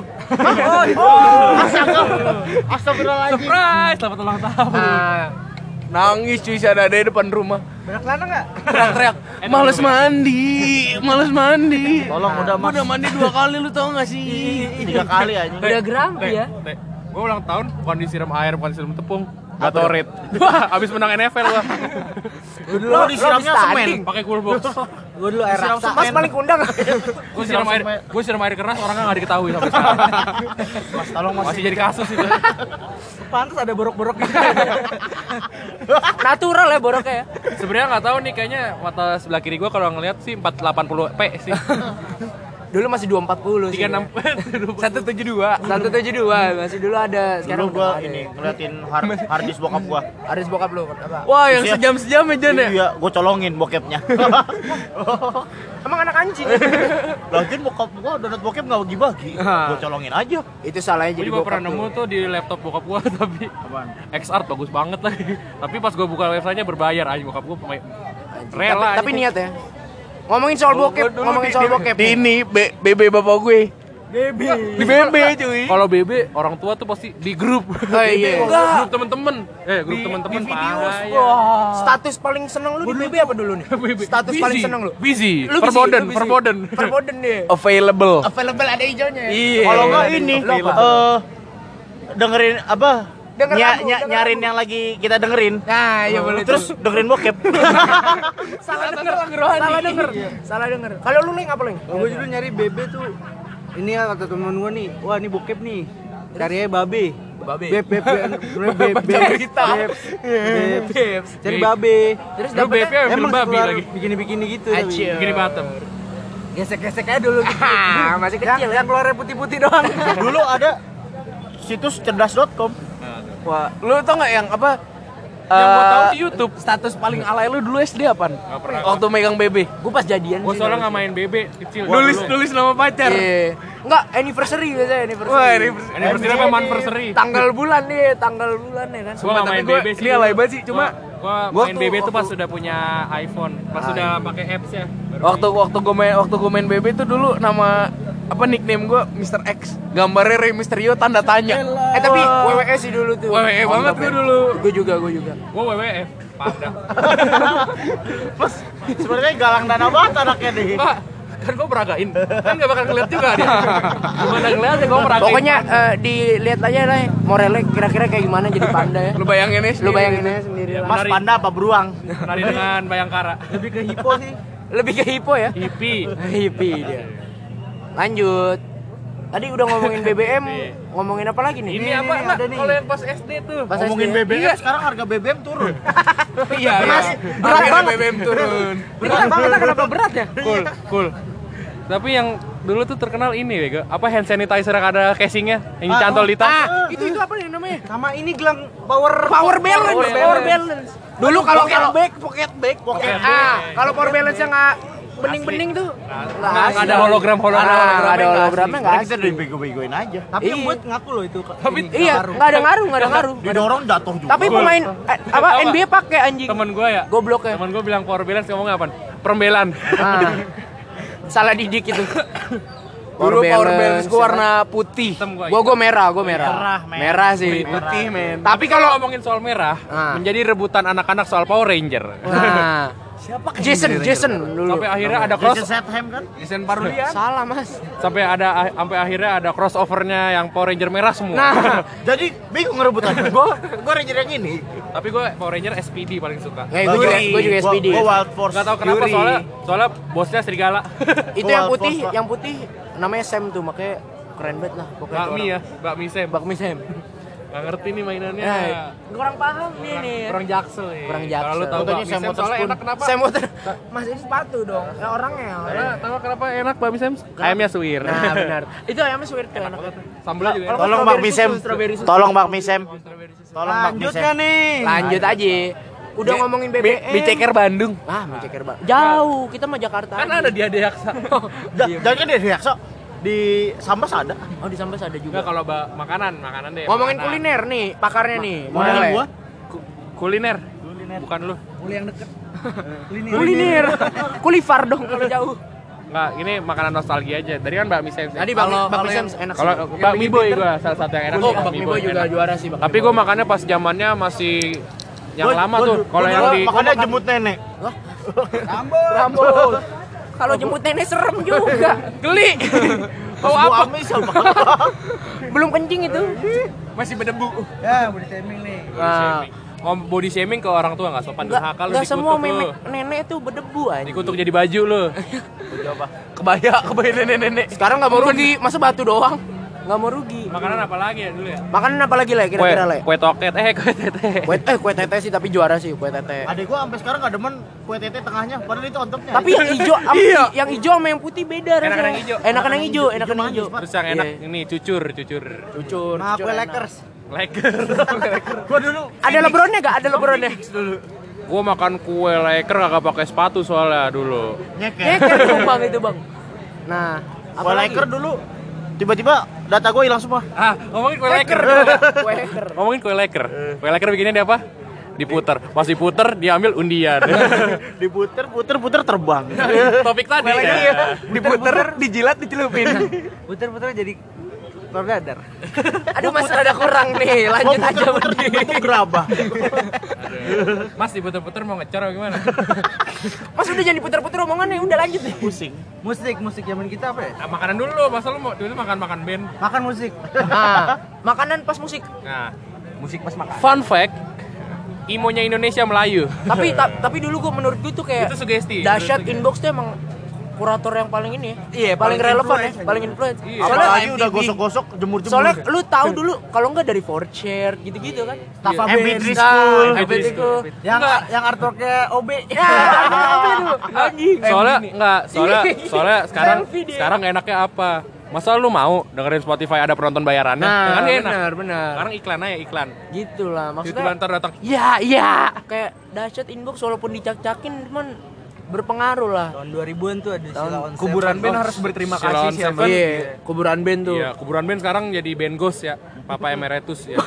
Speaker 2: Astagfirullahaladzim.
Speaker 1: Surprise, selamat ulang tahun.
Speaker 7: Nah,
Speaker 6: Nangis cuy sadade depan rumah.
Speaker 4: Banyak lana enggak?
Speaker 6: Teriak-teriak, males mandi, males mandi.
Speaker 2: Tolong udah
Speaker 6: Gua
Speaker 2: Mas.
Speaker 6: udah mandi dua kali lu tau gak sih?
Speaker 2: Tiga kali aja.
Speaker 7: udah grumpy ya.
Speaker 1: Teh, gue ulang tahun bukan disiram air, bukan disiram tepung. Gatorade. Wah, abis menang N F L gua.
Speaker 2: Dulu disiramnya semen.
Speaker 1: Pakai coolbox.
Speaker 4: Gua dulu air
Speaker 2: Disiram
Speaker 4: raksa.
Speaker 2: semen.
Speaker 7: Mas paling kundang.
Speaker 1: Gue siram air, gue siram air keras orangnya nggak diketahui sampai sekarang.
Speaker 2: Mas, tolong Mas.
Speaker 1: Masih jadi kasus itu.
Speaker 4: Pantes ada borok-borok gitu.
Speaker 7: Natural ya boroknya ya.
Speaker 1: Sebenarnya nggak tahu nih, kayaknya mata sebelah kiri gue kalau ngeliat sih empat delapan puluh p sih.
Speaker 7: Dulu masih dua empat puluh sih.
Speaker 1: tiga enam
Speaker 6: satu tujuh dua.
Speaker 7: satu tujuh dua masih dulu ada.
Speaker 2: Dulu
Speaker 7: Sekarang
Speaker 2: gua
Speaker 7: udah nggak ada
Speaker 2: ini
Speaker 7: ya.
Speaker 2: ngeliatin hard, hard disk bokap gua.
Speaker 7: Aris bokap lu apa?
Speaker 6: Wah yang
Speaker 2: Iya.
Speaker 6: sejam-sejam ya Jon ya?
Speaker 2: Iya, gua colongin bokepnya.
Speaker 7: Emang anak anjing.
Speaker 2: Lagian bokap gua download bokep enggak bagi-bagi. Gua colongin aja.
Speaker 7: Itu salahnya
Speaker 1: Gue
Speaker 7: jadi
Speaker 1: juga
Speaker 7: bokap
Speaker 1: pernah
Speaker 7: tuh.
Speaker 1: nemu tuh di laptop bokap gue, tapi X-Art bagus banget lagi. Tapi pas gue buka websitenya berbayar aja, bokap gue pemain rela.
Speaker 7: Tapi, tapi niat ya. Ngomongin soal bokep, ngomongin soal bokep.
Speaker 6: Di ini B- BB bapak gue. B B. Di B B cuy.
Speaker 1: Kalau B B orang tua tuh pasti di grup.
Speaker 7: Oh iya.
Speaker 1: Grup temen-temen. Eh, grup temen-temen bahaya.
Speaker 7: Status paling seneng lu di B B apa dulu nih? Status
Speaker 1: Busy.
Speaker 7: paling seneng lu?
Speaker 1: Busy.
Speaker 7: Lu busy,
Speaker 1: Verboden,
Speaker 7: lu busy.
Speaker 1: verboden.
Speaker 7: Verboden deh.
Speaker 6: Available.
Speaker 7: Available ada hijaunya.
Speaker 6: Iya.
Speaker 2: Kalau enggak ini
Speaker 7: Lu apa?
Speaker 2: eh dengerin apa?
Speaker 7: Denger
Speaker 2: Nya-
Speaker 7: lagu,
Speaker 2: nya-
Speaker 7: denger
Speaker 2: nyarin
Speaker 7: lagu.
Speaker 2: yang lagi kita dengerin.
Speaker 7: Nah, iya boleh.
Speaker 2: Terus dengerin bokep.
Speaker 7: salah denger, salah denger, salah denger. Kalau lu link apa link?
Speaker 4: Gua dulu nyari bebe tuh. Ini ya kata temen gua nih. Wah, ini bokep nih. Cari aja babe.
Speaker 7: Babe.
Speaker 4: Beb beb beb beb beb beb beb. Cari babe.
Speaker 7: Terus
Speaker 1: Lu
Speaker 7: dapetnya
Speaker 1: B P yang film babi
Speaker 4: keluar
Speaker 1: lagi.
Speaker 4: Bikini-bikini gitu.
Speaker 7: Acil.
Speaker 1: Gini bottom.
Speaker 4: Gesek-gesek aja dulu gitu.
Speaker 7: Ah, masih
Speaker 4: Yang,
Speaker 7: kecil ya.
Speaker 4: yang keluarnya putih-putih doang.
Speaker 2: Dulu ada situs cerdas dot com.
Speaker 6: Wah, lu tau gak yang apa?
Speaker 1: Yang gua tahu
Speaker 3: Eh,
Speaker 1: di YouTube.
Speaker 3: Status paling alay lu dulu S D apaan?
Speaker 1: Nggak pernah.
Speaker 3: Waktu megang B B.
Speaker 7: Gue pas jadian
Speaker 1: Gua
Speaker 7: sih.
Speaker 1: soalnya nggak main B B kecil.
Speaker 3: Nulis
Speaker 1: Dulu.
Speaker 3: nulis nama pacar.
Speaker 7: Iya. Enggak, anniversary biasanya anniversary.
Speaker 3: Wah, anniversary.
Speaker 1: Anniversary apa anniversary?
Speaker 7: Tanggal bulan nih, tanggal bulan ya kan.
Speaker 1: Gua nggak main
Speaker 3: gua,
Speaker 1: B B sih.
Speaker 3: ini alay banget sih, cuma
Speaker 1: gua, gua
Speaker 3: gua
Speaker 1: main
Speaker 3: tuh
Speaker 1: B B tuh pas
Speaker 3: waktu-
Speaker 1: sudah punya iPhone, pas sudah pakai apps ya. Baru
Speaker 3: waktu waktu gue main waktu gue main B B tuh dulu nama apa nickname gue mister X, gambarnya Rey Mysterio tanda tanya.
Speaker 7: Eh tapi W W E sih dulu tuh.
Speaker 3: W W E banget gue dulu.
Speaker 7: Gue juga, gue juga.
Speaker 1: gua W W F, pada.
Speaker 2: Plus sebenarnya galang dana banget anaknya nih.
Speaker 1: Pak, kan gua meragain. Kan enggak bakal ngeliat juga dia. Gimana ngeliatnya gua meragain.
Speaker 7: Pokoknya eh, dilihat aja lah Morelnya kira-kira kayak gimana jadi panda ya.
Speaker 3: Lu bayangin ya.
Speaker 7: Lu bayangin aja sendiri lah.
Speaker 2: Mas panda apa beruang?
Speaker 1: Nari dengan Bayangkara.
Speaker 4: Lebih ke hipo sih.
Speaker 7: Lebih ke hipo ya.
Speaker 1: Hippie.
Speaker 7: Hippie dia. Lanjut. Tadi udah ngomongin B B M, ngomongin apa lagi nih?
Speaker 1: Ini apa enggak? Kalau yang pas S D tuh.
Speaker 7: Pas
Speaker 2: Ngomongin
Speaker 7: S D.
Speaker 2: B B M sekarang harga B B M turun.
Speaker 3: Iya,
Speaker 7: Mas,
Speaker 3: iya.
Speaker 7: berat
Speaker 3: Harga
Speaker 7: banget.
Speaker 3: B B M turun.
Speaker 7: Berat banget lah, kenapa berat ya?
Speaker 1: Cool, cool. Tapi yang dulu tuh terkenal ini, Bego. Apa hand sanitizer yang ada casingnya, yang dicantol di tas.
Speaker 7: Ah, itu itu apa nih namanya?
Speaker 4: Sama ini gelang power
Speaker 7: Power balance,
Speaker 1: Power
Speaker 7: power
Speaker 1: balance.
Speaker 7: balance. Dulu kalau
Speaker 2: Pocket
Speaker 7: kalau
Speaker 2: bag,
Speaker 7: pocket bag,
Speaker 1: Pocket
Speaker 7: ah,
Speaker 1: bag.
Speaker 7: kalau power balance-nya nggak bening-bening tuh.
Speaker 1: Nggak ada hologram hologram.
Speaker 7: Ah, nggak ada hologramnya nggak
Speaker 2: Kita
Speaker 7: asli.
Speaker 2: udah bego-begoin aja.
Speaker 4: Tapi yang
Speaker 7: Iya.
Speaker 4: buat ngaku loh itu.
Speaker 1: Tapi
Speaker 7: Iya, nggak ada ngaruh, nggak ada ngaruh.
Speaker 2: Didorong jatuh juga.
Speaker 7: Tapi pemain eh, apa N B A pakai anjing.
Speaker 1: Temen gua ya.
Speaker 7: Goblok ya.
Speaker 1: Temen gua bilang power balance ngomongnya apa? Perembelan.
Speaker 7: Ah. Salah didik itu.
Speaker 3: Dulu power balance gua warna putih.
Speaker 1: Hitam gua.
Speaker 7: Gua gua merah, gua merah.
Speaker 2: Merah, men.
Speaker 7: Merah sih.
Speaker 3: Putih, men.
Speaker 1: Tapi kalau ngomongin soal merah,
Speaker 7: Ah.
Speaker 1: menjadi rebutan anak-anak soal Power Ranger.
Speaker 7: Nah. Siapa? Jason, Jason dulu.
Speaker 1: Sampai akhirnya ada cross,
Speaker 2: Jason Statham kan?
Speaker 3: Desain Parulian.
Speaker 7: Salah, Mas.
Speaker 1: sampai ada sampai akhirnya ada crossovernya yang Power Ranger merah semua.
Speaker 7: Nah,
Speaker 2: Jadi bingung ngerebutan. Gua gua ranger yang ini.
Speaker 1: Tapi gue Power Ranger S P D paling suka.
Speaker 7: nggak gua juga gua juga S P D.
Speaker 2: Gua, gua Wild Force.
Speaker 1: Gak tau kenapa
Speaker 3: Yuri.
Speaker 1: soalnya soalnya bosnya serigala.
Speaker 7: Itu
Speaker 2: Gua
Speaker 7: yang
Speaker 2: Wild
Speaker 7: putih,
Speaker 2: Force, Pak.
Speaker 7: yang putih namanya Sam tuh, makanya keren banget lah pokoknya. tuh
Speaker 1: Bakmi
Speaker 7: orang.
Speaker 1: ya, bakmi Sam.
Speaker 7: Bakmi Sam.
Speaker 1: Gak ngerti nih mainannya.
Speaker 7: Nah, kurang paham nih nih.
Speaker 1: Kurang jaksel ya.
Speaker 7: Kurang
Speaker 1: Kalau lu
Speaker 7: jaksel.
Speaker 1: tahu
Speaker 2: Contohnya
Speaker 1: bakmi
Speaker 2: Sam
Speaker 1: Sam soalnya
Speaker 2: Waterspoon.
Speaker 1: enak kenapa?
Speaker 7: Sam Water. Mas ini sepatu dong. Ya orangnya.
Speaker 1: Karena tahu kenapa enak bakmi Sam? Ayamnya suwir.
Speaker 7: Nah, benar. Itu ayamnya sweet tuh enak.
Speaker 1: Sambelnya juga enak.
Speaker 2: Tolong
Speaker 7: Strawberry
Speaker 2: bakmi Sam.
Speaker 7: susu, strawberry susu.
Speaker 2: Tolong bakmi Sam. Tolong bakmi
Speaker 4: Lanjut
Speaker 2: Sam.
Speaker 4: kan nih.
Speaker 7: Lanjut aja. Udah ngomongin B B M.
Speaker 3: Biceker Bandung.
Speaker 7: Ah, Biceker Bang. Jauh, kita mah Jakarta.
Speaker 1: Kan
Speaker 7: aja.
Speaker 1: ada di Adeaksa.
Speaker 2: Ja- Jangan kan dia Riakso di Sambas ada.
Speaker 7: Oh, di Sambas ada
Speaker 1: Enggak
Speaker 7: juga.
Speaker 1: kalau ba- makanan, makanan deh.
Speaker 7: Ngomongin
Speaker 1: makanan.
Speaker 7: kuliner nih, pakarnya nih.
Speaker 2: Model
Speaker 7: Model
Speaker 2: gua.
Speaker 1: Ku- kuliner. Bukan lu.
Speaker 4: Mulai yang deket.
Speaker 7: kuliner. Kulifar dong kalau jauh.
Speaker 1: Enggak, ini makanan nostalgia aja. Tadi kan bakmi Sam.
Speaker 7: Tadi
Speaker 3: Kalau-
Speaker 7: bakmi bakmi
Speaker 3: kalau
Speaker 7: Sam
Speaker 3: yang-
Speaker 7: enak sih.
Speaker 1: Kalau bakmi boy gua salah satu yang enak.
Speaker 7: Oh,
Speaker 1: sih,
Speaker 7: bakmi boy juga
Speaker 1: enak.
Speaker 7: juara sih bakmi
Speaker 1: Tapi
Speaker 7: boy.
Speaker 1: gua makannya pas zamannya masih yang
Speaker 2: Gua-
Speaker 1: lama
Speaker 2: gua-
Speaker 1: tuh.
Speaker 2: gua
Speaker 1: Kalau yang
Speaker 2: dulu
Speaker 1: di
Speaker 2: makannya jemput nenek.
Speaker 7: Rambut. Kalau jemput nenek serem juga.
Speaker 1: geli.
Speaker 2: Oh apa? Amis apa?
Speaker 7: Belum kencing itu.
Speaker 3: Masih berdebu.
Speaker 4: Ya, body shaming nih.
Speaker 7: Nah,
Speaker 1: Ngom body shaming ke orang tua enggak sopan
Speaker 7: enggak
Speaker 1: durhaka lu
Speaker 7: enggak semua
Speaker 1: dikutuk lu.
Speaker 7: memek nenek tuh berdebu aja.
Speaker 1: Dikutuk jadi baju lu.
Speaker 3: Kebaya, kebaya nenek-nenek.
Speaker 7: Sekarang nggak mau rugi, masa batu doang? Nggak mau rugi.
Speaker 1: Makanan apa lagi ya dulu ya?
Speaker 7: Makanan apa lagi lah
Speaker 1: Kue,
Speaker 7: kira-kira lah?
Speaker 1: kue toket, eh kue tete.
Speaker 7: Kue eh kue tete sih tapi juara sih kue tete.
Speaker 2: Adek gua sampai sekarang enggak demen kue tete tengahnya, padahal itu on topnya.
Speaker 7: Tapi yang hijau, am- yang hijau sama yang putih beda rasanya.
Speaker 1: Enakan yang hijau.
Speaker 7: Enakan yang hijau, enakan yang hijau.
Speaker 1: Terus yang enak
Speaker 7: Iya.
Speaker 1: ini cucur, cucur.
Speaker 7: Cucur.
Speaker 4: Nah,
Speaker 7: cucur
Speaker 4: kue
Speaker 7: enak.
Speaker 4: Lakers.
Speaker 1: Leker.
Speaker 2: gua dulu
Speaker 7: Ada lebronnya gak? Ada lebronnya.
Speaker 1: Gua makan kue leker kagak pakai sepatu soalnya dulu.
Speaker 2: nyeket.
Speaker 7: Nyeker tuh bang itu bang. Nah, apa
Speaker 2: Kue
Speaker 7: lagi?
Speaker 2: leker dulu tiba-tiba data gua hilang semua.
Speaker 1: Ah, ngomongin kue leker.
Speaker 7: Kue leker.
Speaker 1: Ngomongin kue leker. Kue leker bikinnya dia apa? Diputer. Pas diputer diambil undian.
Speaker 2: Diputer, puter, puter terbang.
Speaker 1: Topik tadi.
Speaker 3: Lagi
Speaker 1: ya.
Speaker 3: ya. Diputer, dijilat, dicelupin.
Speaker 4: Puter-puter jadi telur dadar.
Speaker 7: Aduh mas ada kurang nih. Lanjut
Speaker 2: Gua
Speaker 7: aja.
Speaker 2: puter-puter dibentuk gerabah.
Speaker 1: Aduh. Mas diputer-puter mau ngecor apa gimana?
Speaker 7: Mas udah jangan diputer-puter omongannya. Udah lanjut deh.
Speaker 2: Pusing.
Speaker 4: Musik, musik zaman kita apa ya?
Speaker 1: Ah, makanan dulu, masa lu mau dulu makan-makan band.
Speaker 4: Makan musik.
Speaker 7: Nah, makanan pas musik.
Speaker 1: Nah,
Speaker 3: Musik pas makan.
Speaker 1: fun fact, imonya Indonesia Melayu.
Speaker 7: Tapi ta- tapi dulu gua menurut gua tuh kayak
Speaker 1: Itu sugesti.
Speaker 7: dahsyat
Speaker 1: Menurut
Speaker 7: inbox tuh emang kurator yang paling ini ya.
Speaker 3: Iya,
Speaker 7: paling,
Speaker 3: paling
Speaker 7: relevan ya,
Speaker 3: influence.
Speaker 7: paling influence.
Speaker 1: Iya.
Speaker 7: Soalnya
Speaker 2: Apalagi udah gosok-gosok, jemur-jemur.
Speaker 7: soalnya lu tahu dulu kalau enggak dari four chair gitu-gitu kan.
Speaker 4: Tafa
Speaker 2: M P
Speaker 4: Band.
Speaker 2: three School.
Speaker 7: Nah, M P three School.
Speaker 4: Yang yang artworknya O B.
Speaker 7: Ya, apa tuh? Anjing.
Speaker 1: Soalnya enggak, soalnya
Speaker 7: Iya.
Speaker 1: soalnya sekarang
Speaker 7: Selfie dia.
Speaker 1: sekarang enaknya apa? Masa lu mau dengerin Spotify ada penonton bayarannya?
Speaker 7: Nah,
Speaker 1: kan gak enak.
Speaker 7: benar, benar.
Speaker 1: Sekarang iklan aja iklan.
Speaker 7: Gitu lah
Speaker 1: Maksudnya
Speaker 7: maksudnya.
Speaker 1: ntar datang.
Speaker 7: Iya, iya. Kayak dahsyat inbox walaupun dicak-cakin cuman berpengaruh lah.
Speaker 4: Tahun dua ribuan tuh ada
Speaker 7: Tahun
Speaker 4: Sheila on
Speaker 6: Kuburan
Speaker 4: Seven.
Speaker 6: band harus berterima
Speaker 1: Sheila
Speaker 6: kasih
Speaker 1: on
Speaker 6: sih
Speaker 1: Seven.
Speaker 6: sama
Speaker 7: Iya, kuburan band tuh.
Speaker 1: Iya, kuburan band sekarang jadi band ghost ya. Papa Emeritus ya.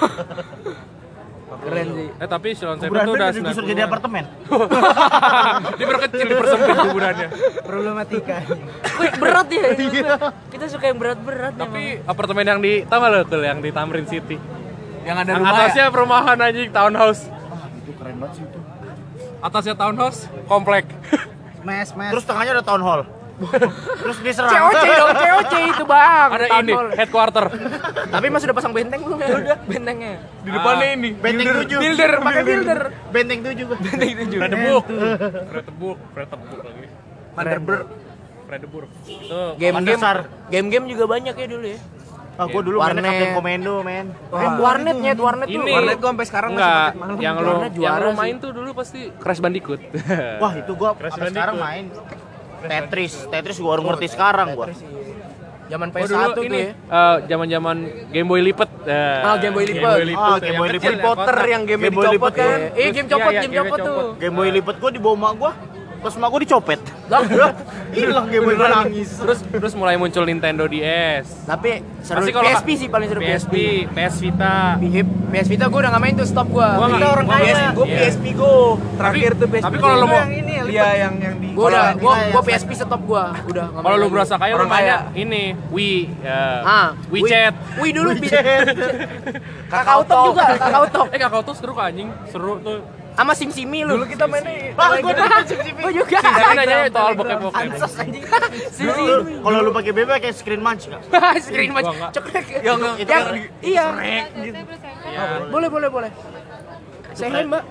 Speaker 7: Keren sih.
Speaker 1: Eh tapi Silon Seven
Speaker 2: Kuburan
Speaker 1: tuh
Speaker 2: band
Speaker 1: udah
Speaker 2: udah digusur jadi apartemen.
Speaker 1: Diperkecil, dipersempit kuburannya.
Speaker 4: Problematika.
Speaker 7: Wih, berat ya. Kita suka yang berat-berat
Speaker 1: Tapi apartemen yang di, tau gak lo Kul, yang di Tamrin City?
Speaker 6: Yang ada
Speaker 1: Yang
Speaker 6: rumah
Speaker 1: atasnya perumahan anjing, townhouse.
Speaker 2: Itu keren banget sih itu.
Speaker 1: Atasnya townhouse, komplek.
Speaker 4: Mes, mes.
Speaker 2: Terus tengahnya ada town hall. Terus diserang.
Speaker 7: C O C dong, C O C itu bang.
Speaker 1: Ada
Speaker 7: Town
Speaker 1: ini,
Speaker 7: hall.
Speaker 1: headquarter.
Speaker 7: Tapi mas udah pasang benteng belum ya? Udah bentengnya.
Speaker 6: di depannya ini.
Speaker 2: Benteng tujuh.
Speaker 7: Builder, pakai builder.
Speaker 2: Benteng tujuh gua.
Speaker 7: Benteng tujuh.
Speaker 1: Fredebook. Fredebook, Fredebook lagi.
Speaker 7: Vanderburg.
Speaker 1: Fredebook. Itu
Speaker 7: Game-game,
Speaker 2: Pasar.
Speaker 7: game-game juga banyak ya dulu ya.
Speaker 2: Ah, gua dulu mainnya
Speaker 7: Warnet.
Speaker 2: Kapten Komando, men.
Speaker 7: Eh, warnet nyet, warnet tuh.
Speaker 1: Ini.
Speaker 6: Warnet gua sampai sekarang
Speaker 1: enggak,
Speaker 6: masih malam.
Speaker 1: yang lo
Speaker 7: Warnet
Speaker 1: yang
Speaker 7: juara
Speaker 1: lo
Speaker 7: sih.
Speaker 1: main tuh dulu pasti Crash Bandicoot.
Speaker 2: Wah, itu gua
Speaker 1: Crash
Speaker 2: sampai sekarang main Tetris. Tetris gua baru ngerti sekarang gua.
Speaker 7: Zaman P
Speaker 1: Oh
Speaker 7: S
Speaker 1: dulu
Speaker 7: satu tuh
Speaker 1: ini
Speaker 7: ya.
Speaker 1: eh, zaman-zaman Game Boy lipet. Eh,
Speaker 7: Ah, Game Boy lipet.
Speaker 2: Ah,
Speaker 1: tuh,
Speaker 2: Game
Speaker 1: yang
Speaker 2: Boy
Speaker 1: kecil,
Speaker 2: lipet.
Speaker 1: yang
Speaker 7: Potter
Speaker 1: kotak.
Speaker 7: yang game
Speaker 2: Game Boy
Speaker 7: dicopot
Speaker 2: lipet,
Speaker 7: kan.
Speaker 2: iya.
Speaker 7: Eh, game copot,
Speaker 1: Iya, iya,
Speaker 7: game
Speaker 1: game
Speaker 7: copot tuh.
Speaker 1: copot.
Speaker 2: Game Boy lipet gua dibawa mak gua. Pas mak gua dicopet.
Speaker 7: Lah,
Speaker 2: Hilang Game Boy, gua nangis.
Speaker 1: Terus terus mulai muncul Nintendo D S.
Speaker 7: tapi seru
Speaker 1: Pasti
Speaker 7: P
Speaker 1: kalau
Speaker 7: S P sih paling seru
Speaker 1: P S P, P S Vita.
Speaker 7: P S Vita gue udah gak main tuh, stop gue.
Speaker 1: Gua nggak-
Speaker 7: Kita orang
Speaker 1: gua
Speaker 7: kaya.
Speaker 1: nggak-
Speaker 7: Gue
Speaker 1: iya.
Speaker 7: P S P go.
Speaker 6: Terakhir tuh P S P.
Speaker 1: Tapi kalau lo mau
Speaker 6: Iya yang yang di
Speaker 7: Gue udah, gue
Speaker 2: Iya,
Speaker 7: gue
Speaker 2: iya.
Speaker 7: P S P stop gue. Udah. nggak
Speaker 1: kalau
Speaker 7: main
Speaker 1: lu
Speaker 7: lagi.
Speaker 1: berasa kaya lu
Speaker 7: Orang
Speaker 1: mainnya ini Wii, ya.
Speaker 7: Ah,
Speaker 1: WeChat.
Speaker 7: Wih dulu bisa. Kakao Talk juga, Kakao Talk.
Speaker 1: Eh kakak tuh seru kok anjing, seru tuh.
Speaker 7: Sama Sim-Simi lu.
Speaker 6: Dulu kita mainnya
Speaker 2: Wah, gua udah Sim-Sim.
Speaker 7: Gue juga.
Speaker 1: Tapi nanya soal bokep-bokep.
Speaker 7: Ansos anjing.
Speaker 2: Dulu,
Speaker 7: Sim-Simi.
Speaker 2: kalau lu pakai B B kayak screen munch enggak?
Speaker 7: Screen match.
Speaker 1: Gua nggak.
Speaker 7: Cekrek.
Speaker 6: Yang
Speaker 2: Itu
Speaker 7: Yang
Speaker 2: kan
Speaker 7: iya.
Speaker 1: Iya.
Speaker 7: Boleh, boleh, boleh. Saya hai, Mbak.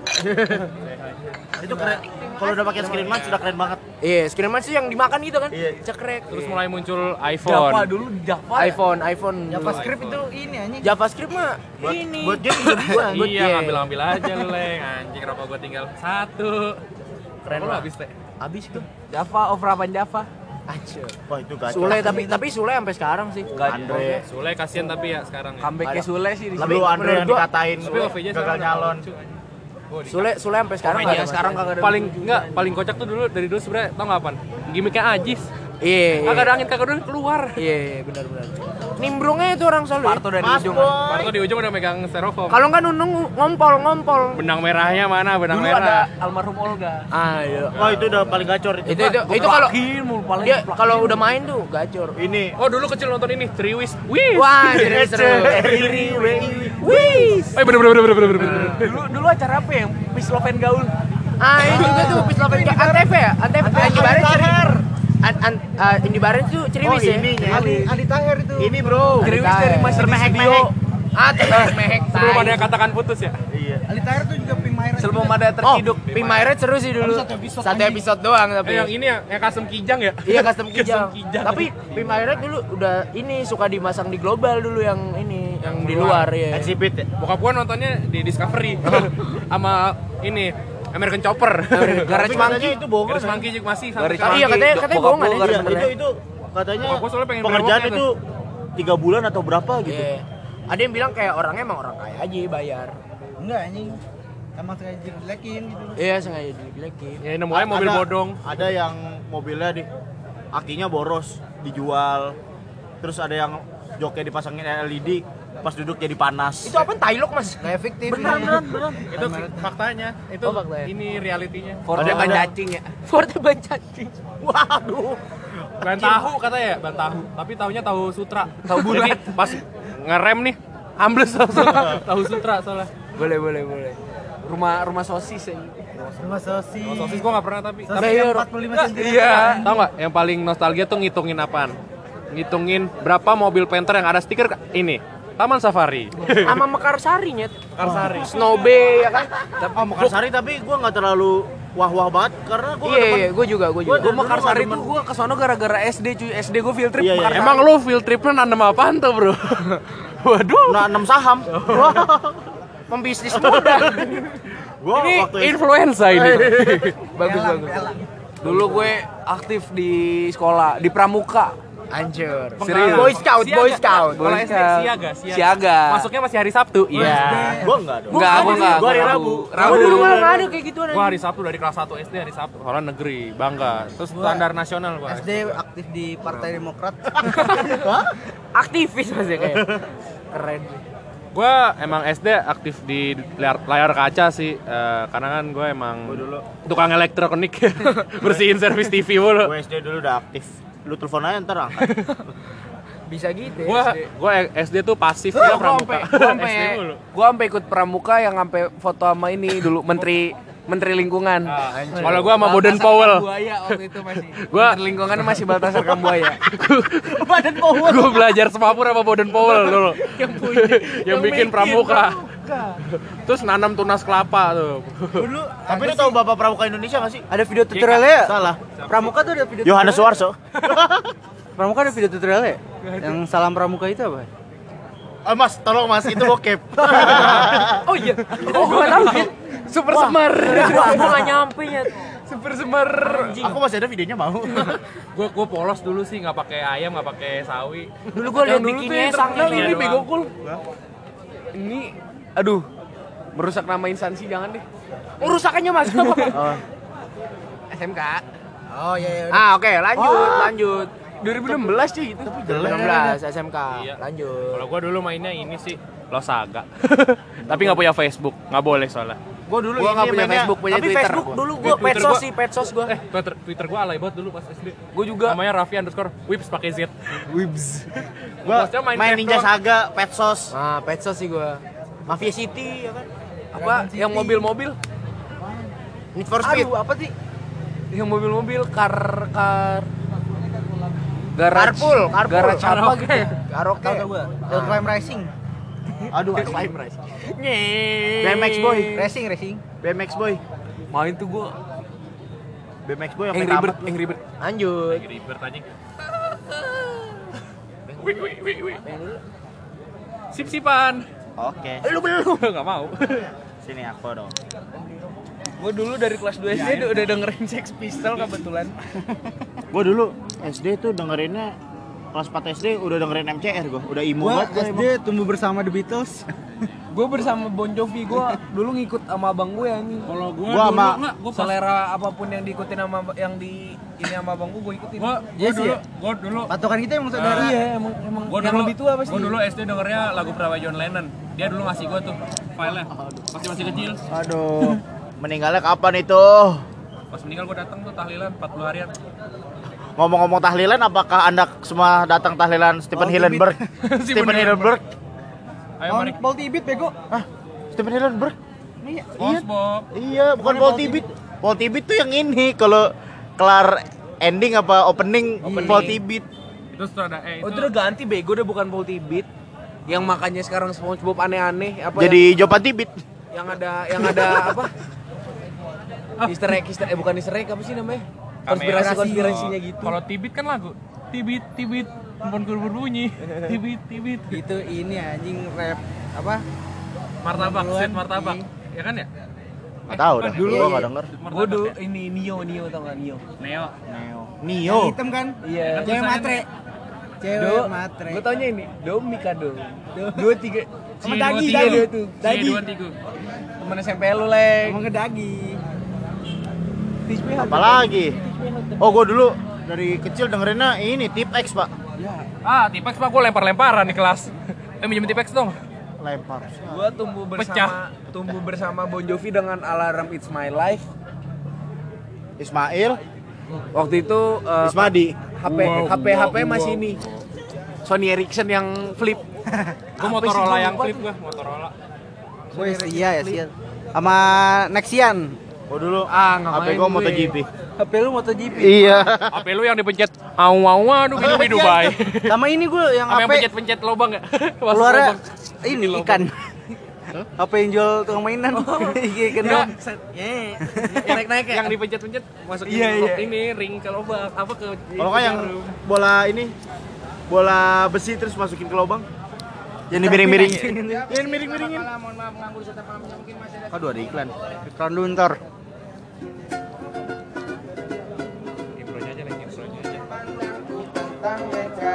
Speaker 2: Itu keren. Kalau udah pakai screen munch sudah keren banget.
Speaker 7: Iya, screen match tuh yang dimakan gitu kan.
Speaker 2: Iya.
Speaker 7: Cekrek.
Speaker 1: Terus mulai muncul
Speaker 6: Java
Speaker 1: iPhone.
Speaker 6: dulu Java.
Speaker 7: iPhone, iPhone.
Speaker 4: JavaScript itu ini anjing.
Speaker 7: JavaScript mah
Speaker 2: Buat
Speaker 7: ini.
Speaker 2: buat game juga bisa.
Speaker 7: Buat
Speaker 1: Iya,
Speaker 7: game.
Speaker 1: ngambil-ngambil aja lu, Leng. Anjing rokok gua tinggal satu.
Speaker 7: Keren
Speaker 1: Lu
Speaker 7: lah.
Speaker 1: habis teh.
Speaker 7: Habis tuh.
Speaker 6: Java overrapan Java.
Speaker 7: Anjir.
Speaker 2: Wah, itu gacor.
Speaker 7: Sule tapi tapi Sule sampai sekarang sih.
Speaker 2: Andre.
Speaker 1: Sule kasihan tapi ya sekarang ya.
Speaker 6: Comebacknya Sule sih di
Speaker 2: Lalu
Speaker 7: Tapi
Speaker 2: Andre yang
Speaker 7: menurut gua-
Speaker 2: dikatain
Speaker 1: Tapi O V J
Speaker 2: gagal
Speaker 1: sekarang
Speaker 2: nyalon.
Speaker 7: Sule Sule sampai sekarang
Speaker 1: O V J
Speaker 7: nggak ada sekarang kagak ada.
Speaker 1: paling enggak paling kocak tuh dulu dari dulu sebenarnya tau nggak apaan? Gimiknya Ajis.
Speaker 7: Iya.
Speaker 1: Kagak ada angin kagak ada keluar.
Speaker 7: Iya, benar benar. Nimbrungnya itu orang selalu.
Speaker 6: Parto dari
Speaker 2: Mas
Speaker 6: ujung.
Speaker 2: Boy.
Speaker 1: Parto di ujung udah megang styrofoam.
Speaker 7: Kalau nggak nunung ngompol ngompol.
Speaker 1: Benang merahnya mana? Benang
Speaker 6: Dulu
Speaker 1: merah.
Speaker 6: ada almarhum Olga.
Speaker 7: Ah iya.
Speaker 2: Wah, itu udah paling gacor itu.
Speaker 7: Itu itu itu kalau
Speaker 6: mulu paling
Speaker 7: dia kalau udah main tuh gacor.
Speaker 2: Ini
Speaker 1: Oh dulu kecil nonton ini Triwis. Wih.
Speaker 7: Wah, jadi seru.
Speaker 2: Iri,
Speaker 7: Wih.
Speaker 1: Eh bener bener bener bener bener bener.
Speaker 6: Dulu dulu acara apa yang Peace Love and Gaul?
Speaker 7: Ah, ini juga tuh Peace Love and Gaul. Antv ya? Antv. Andi Barens. An, an, uh, Indi Barens tuh ceriwis
Speaker 2: Oh,
Speaker 7: ya.
Speaker 2: ini, ya.
Speaker 4: Adi Adi Tahir itu.
Speaker 2: Ini, Bro.
Speaker 6: Ceriwis dari Master
Speaker 2: Mehek
Speaker 6: Video.
Speaker 2: mehek.
Speaker 7: Ah, terus mehek.
Speaker 1: Sebelum ada yang katakan putus ya.
Speaker 2: Iya.
Speaker 4: Adi Tahir tuh juga Pimaira.
Speaker 6: Sebelum ada
Speaker 7: Oh,
Speaker 6: terciduk.
Speaker 7: Pimaret seru sih dulu.
Speaker 4: Satu episode
Speaker 7: Satu
Speaker 4: anjing.
Speaker 7: episode doang tapi.
Speaker 1: Eh yang ini ya, yang kasem kijang ya.
Speaker 7: Iya custom kijang.
Speaker 1: kijang.
Speaker 7: Tapi Pimaret dulu udah ini suka dimasang di global dulu yang ini yang di luar ya.
Speaker 2: Exhibit ya.
Speaker 1: Bokap gua nontonnya di Discovery sama ini American Chopper.
Speaker 7: Garage
Speaker 2: Tapi katanya
Speaker 7: Monkey.
Speaker 2: itu bohong.
Speaker 1: Garage
Speaker 2: kan?
Speaker 1: Monkey juga masih
Speaker 6: Garage
Speaker 1: sampai sekarang.
Speaker 7: Iya katanya katanya
Speaker 6: Bokap
Speaker 7: bohongan
Speaker 6: gua
Speaker 7: ya.
Speaker 2: Iya,
Speaker 7: sebenarnya.
Speaker 2: itu itu katanya
Speaker 1: Bokap gua soalnya pengen
Speaker 2: pengerjaan
Speaker 1: brewoknya
Speaker 2: itu tiga bulan atau berapa gitu.
Speaker 7: Iya. Ada yang bilang kayak orangnya emang orang kaya aja bayar.
Speaker 4: Enggak anjing. Emang sengaja dijelekin gitu.
Speaker 7: Iya sengaja dijelekin.
Speaker 1: Ya nemu aja mobil
Speaker 2: Ada-
Speaker 1: bodong.
Speaker 2: Ada yang mobilnya di akinya boros dijual. Terus ada yang joknya dipasangin L E D pas duduk jadi panas.
Speaker 7: Itu apa Tailok Mas?
Speaker 4: Nggak efektif.
Speaker 7: Beneran beneran beneran.
Speaker 1: Itu faktanya. Itu
Speaker 7: Oh, faktanya.
Speaker 1: ini realitinya.
Speaker 6: Forte
Speaker 2: Ada-
Speaker 6: ban
Speaker 2: ada-
Speaker 6: cacing ya.
Speaker 7: Forte ban cacing.
Speaker 2: Waduh.
Speaker 1: Ban tahu katanya ya, ban tahu. Tapi tahunya tahu sutra.
Speaker 6: Tahu bulat.
Speaker 1: Jadi pas ngerem nih, ambles langsung. Tahu sutra soalnya.
Speaker 6: Boleh boleh boleh. Rumah rumah sosis ya.
Speaker 4: Rumah sosis.
Speaker 1: Oh, sosis gua nggak pernah tapi.
Speaker 4: Sosis
Speaker 1: Tapi
Speaker 4: yang empat puluh lima sentimeter.
Speaker 6: Iya.
Speaker 1: tahu nggak yang paling nostalgia tuh ngitungin apaan? Ngitungin berapa mobil Panther yang ada stiker ini. Taman Safari.
Speaker 7: Sama Mekarsari nyet.
Speaker 1: Mekarsari.
Speaker 7: Snowbay ya kan?
Speaker 2: Oh, Mekarsari tapi gua nggak terlalu wah-wah banget karena gua
Speaker 7: Iya iya, gue juga gue juga.
Speaker 2: Gua-
Speaker 6: Gue Mekarsari tuh gue kesono gara-gara S D cuy. S D gue field trip
Speaker 2: Iya, iya.
Speaker 6: Mekarsari.
Speaker 1: Emang lu field tripnya nanam apaan tuh, Bro? Waduh.
Speaker 2: nah, enam saham.
Speaker 7: Pembisnis muda.
Speaker 2: Gua
Speaker 1: Ini
Speaker 2: waktu itu
Speaker 1: influenza ini.
Speaker 6: Bagus bagus. Dulu gue aktif di sekolah di Pramuka.
Speaker 7: Hancur.
Speaker 3: Serius?
Speaker 7: Boy Scout, Boy
Speaker 1: Siaga.
Speaker 7: Scout.
Speaker 1: Kalau
Speaker 3: Boy
Speaker 1: S D
Speaker 3: Scout.
Speaker 1: siaga, siaga.
Speaker 3: Siaga.
Speaker 1: Masuknya masih hari Sabtu. Iya.
Speaker 2: Gua enggak dong.
Speaker 3: Enggak, gua enggak.
Speaker 2: Gua hari
Speaker 3: gua
Speaker 2: Rabu.
Speaker 3: Rabu.
Speaker 7: Oh, dulu malah nggak ada kayak gituan.
Speaker 1: Gua hari Sabtu dari kelas satu S D hari Sabtu. Soalnya negeri, bangga. Terus standar nasional gua.
Speaker 4: S D aktif di Partai Demokrat.
Speaker 7: Aktivis masih kayak. Keren.
Speaker 1: Gua emang S D aktif di layar, layar kaca sih, eh, karena kan gue emang tukang elektronik, bersihin servis T V mulu.
Speaker 2: Gua S D dulu udah aktif. Lu telepon aja ntar angkat.
Speaker 7: Bisa gitu ya.
Speaker 1: Gua
Speaker 7: S D.
Speaker 1: gua S D tuh pasif
Speaker 7: Gua
Speaker 1: ya
Speaker 7: gua
Speaker 1: pramuka.
Speaker 7: sampai gua sampai
Speaker 1: S D mulu.
Speaker 7: gua sampai ikut pramuka yang sampai foto sama ini dulu menteri menteri lingkungan.
Speaker 1: Kalau gua sama Boden Powell.
Speaker 7: Buaya waktu itu masih.
Speaker 1: Gua
Speaker 7: Menteri lingkungan masih Baltasar Kambuaya.
Speaker 1: Badan Powell. Gua belajar semapur sama Boden Powell dulu.
Speaker 7: yang punya
Speaker 1: yang bikin pramuka. Terus nanam tunas kelapa tuh.
Speaker 4: Dulu
Speaker 2: Tapi lu tahu Bapak Pramuka Indonesia enggak sih?
Speaker 4: ada video tutorialnya ya?
Speaker 2: Salah.
Speaker 4: Pramuka tuh ada video
Speaker 2: Yohanes Suwarso.
Speaker 4: Pramuka ada video tutorialnya? Yang salam pramuka itu apa?
Speaker 2: Ah, Mas, tolong Mas, itu bokep.
Speaker 7: Oh iya. Oh, gua tahu. Super Semar. Gua enggak nyampe ya. Super Semar.
Speaker 2: Aku masih ada videonya mau.
Speaker 1: Gua gua polos dulu sih, nggak pakai ayam, nggak pakai sawi.
Speaker 7: Dulu gua lihat
Speaker 1: Yang dulu tuh
Speaker 7: bikinnya
Speaker 1: yang
Speaker 7: sang
Speaker 1: terkenal
Speaker 7: ini
Speaker 1: ini
Speaker 7: bego
Speaker 1: doang.
Speaker 7: cool. Ini aduh. Merusak nama instansi jangan deh. Oh, rusakannya Mas. S M K.
Speaker 4: Oh iya iya.
Speaker 7: Ah, oke, lanjut, lanjut. dua ribu enam belas cuy itu. dua ribu enam belas S M K.
Speaker 1: Iya.
Speaker 7: Lanjut.
Speaker 1: Kalau gua dulu mainnya ini sih Losaga. Tapi nggak punya Facebook, nggak boleh soalnya.
Speaker 2: Gua dulu
Speaker 7: Gua enggak
Speaker 2: ini
Speaker 7: punya
Speaker 2: mainnya-
Speaker 7: Facebook, punya
Speaker 2: Tapi
Speaker 7: Twitter.
Speaker 2: Facebook dulu
Speaker 7: Gua
Speaker 1: Twitter
Speaker 7: petsos
Speaker 1: gua-
Speaker 7: sih, petsos gua.
Speaker 1: Eh, Twitter, Twitter gua alay banget dulu pas S D.
Speaker 7: Gua juga.
Speaker 1: Namanya Raffi underscore Wips pakai Z.
Speaker 2: gua
Speaker 1: Bosnya main
Speaker 2: main
Speaker 1: Craft
Speaker 2: Ninja
Speaker 1: doang.
Speaker 2: Saga, Petsos,
Speaker 7: Ah, petsos sih gua.
Speaker 2: Mafia City ya kan.
Speaker 7: Apa? Yang mobil-mobil?
Speaker 2: Need for Speed.
Speaker 4: Aduh, apa sih?
Speaker 7: Yang mobil-mobil car car garage.
Speaker 2: Carpool, carpool.
Speaker 7: Garage apa
Speaker 1: Karaoke.
Speaker 7: gitu? Karaoke.
Speaker 4: Tahu tahu gua. Hill Climb Racing.
Speaker 2: Aduh,
Speaker 7: Climb race.
Speaker 2: B M X Boy,
Speaker 4: Racing racing.
Speaker 2: B M X Boy,
Speaker 7: Main tuh gua.
Speaker 2: B M X Boy yang
Speaker 7: Angry
Speaker 2: main
Speaker 7: Bird,
Speaker 2: tamat.
Speaker 7: Angry Bird. Lanjut.
Speaker 1: Ribet anjing. Wih, wih, wih, wih. Sip-sipan.
Speaker 2: Oke,
Speaker 7: Lu belum.
Speaker 1: Nggak mau.
Speaker 2: sini aku dong.
Speaker 7: Gua dulu dari kelas dua S D udah dengerin Sex Pistol kebetulan.
Speaker 2: Gua dulu S D tuh dengerinnya kelas empat S D udah dengerin M C R gua, udah imo
Speaker 4: Gua
Speaker 2: banget gua
Speaker 4: S D
Speaker 2: emang.
Speaker 4: tumbuh bersama The Beatles.
Speaker 7: Gue bersama Bon Jovi, gue dulu ngikut sama abang gue yang
Speaker 1: Kalau gua,
Speaker 2: Gua
Speaker 1: dulu
Speaker 2: sama-
Speaker 1: nggak, gua pas
Speaker 7: selera apapun yang diikutin sama yang di ini sama abang gue, gue ikutin.
Speaker 1: gua, gua
Speaker 4: Jesse
Speaker 1: dulu,
Speaker 4: ya?
Speaker 1: gua dulu
Speaker 4: Patokan kita emang saudara.
Speaker 7: Iya, emang emang
Speaker 1: Gua
Speaker 7: yang
Speaker 1: dulu,
Speaker 7: lebih tua pasti.
Speaker 1: Gua dulu S D dengernya lagu Prawa John Lennon. Dia dulu ngasih gua tuh filenya. Masih masih kecil.
Speaker 2: Aduh, meninggalnya kapan itu?
Speaker 1: Pas meninggal gua datang tuh tahlilan empat puluh harian.
Speaker 2: Ngomong-ngomong tahlilan, apakah anda semua datang tahlilan Stephen
Speaker 4: Oh,
Speaker 2: Hillenburg? Stephen Hillenburg?
Speaker 1: Ayo
Speaker 4: On
Speaker 1: mari.
Speaker 4: Paul Tibit bego.
Speaker 2: Ah, Stephen Hillenburg?
Speaker 4: Iya.
Speaker 1: SpongeBob.
Speaker 2: Iya, bukan Paul Tibit. Paul Tibit tuh yang ini, kalau kelar ending apa opening, Paul Tibit.
Speaker 1: Terus tuh ada eh itu.
Speaker 7: Oh, itu udah ganti bego, udah bukan Paul Tibit. Yang makanya sekarang SpongeBob aneh-aneh apa
Speaker 2: Jadi Jopan Tibit.
Speaker 7: yang, yang ada yang ada apa? Easter egg, Easter, eh bukan Easter egg apa sih namanya? Konspirasi konspirasinya gitu.
Speaker 1: Kalau Tibit kan lagu. Tibit Tibit handphone berbunyi. Tibit Tibit.
Speaker 4: Itu ini anjing rap apa?
Speaker 1: Martabak,
Speaker 4: Duluan.
Speaker 1: set martabak. Ya kan ya?
Speaker 2: Enggak tahu dah.
Speaker 1: Dulu
Speaker 2: Gua enggak denger.
Speaker 7: Gue dulu ini Nio Nio tau gak Nio?
Speaker 1: Neo.
Speaker 2: Neo.
Speaker 4: Yang
Speaker 2: Nio.
Speaker 4: hitam kan?
Speaker 7: Iya.
Speaker 4: Cewek matre. Cewek matre.
Speaker 7: Gue taunya ini Domika dong. Dua tiga.
Speaker 4: Sama
Speaker 1: Cie,
Speaker 4: Dagi,
Speaker 1: dua,
Speaker 4: Dagi.
Speaker 1: tiga.
Speaker 4: tuh.
Speaker 1: Cie,
Speaker 4: Dagi.
Speaker 1: dua, tiga.
Speaker 7: Temen S M P lu leng.
Speaker 4: Emang ngedagi.
Speaker 7: Teach me how to-
Speaker 2: Apalagi? Oh, gua dulu dari kecil dengerinnya ini Tip X, Pak.
Speaker 1: Ah, Tipex Pak, gua lempar-lemparan di kelas. Eh, minjem Tipex dong.
Speaker 2: Lempar.
Speaker 7: Gua tumbuh bersama
Speaker 1: Pecah.
Speaker 7: tumbuh bersama Bon Jovi dengan alarm It's My Life.
Speaker 2: Ismail,
Speaker 7: Waktu itu eh,
Speaker 2: Ismadi.
Speaker 7: H P H P H P masih ini Sony Ericsson yang flip.
Speaker 1: Gua Motorola yang flip gua, Motorola.
Speaker 4: Gue iya ya sih. Sama Nexian.
Speaker 2: Gua dulu
Speaker 7: Ah, nggak
Speaker 2: H P
Speaker 7: main
Speaker 2: gua
Speaker 7: gue.
Speaker 2: MotoGP.
Speaker 4: H P lu MotoGP.
Speaker 2: Iya.
Speaker 1: H P lu yang dipencet aw aw aduh hidup di Dubai.
Speaker 4: Sama ini gue yang
Speaker 1: Apa yang
Speaker 4: H P
Speaker 1: pencet-pencet lobang ya?
Speaker 4: keluarnya ini ikan. H P yang jual tukang mainan. Iya kan.
Speaker 1: Enggak,
Speaker 7: Naik-naik ya.
Speaker 1: yang dipencet-pencet masukin
Speaker 4: Iya, iya.
Speaker 1: ini ring ke lubang apa ke
Speaker 2: Kalau kan yang bola ini bola besi terus masukin ke lubang. Yang miring-miringin. Yang miring-miringin. Aduh, ada iklan.
Speaker 4: Iklan dulu ntar.
Speaker 1: intronya aja nih intronya aja.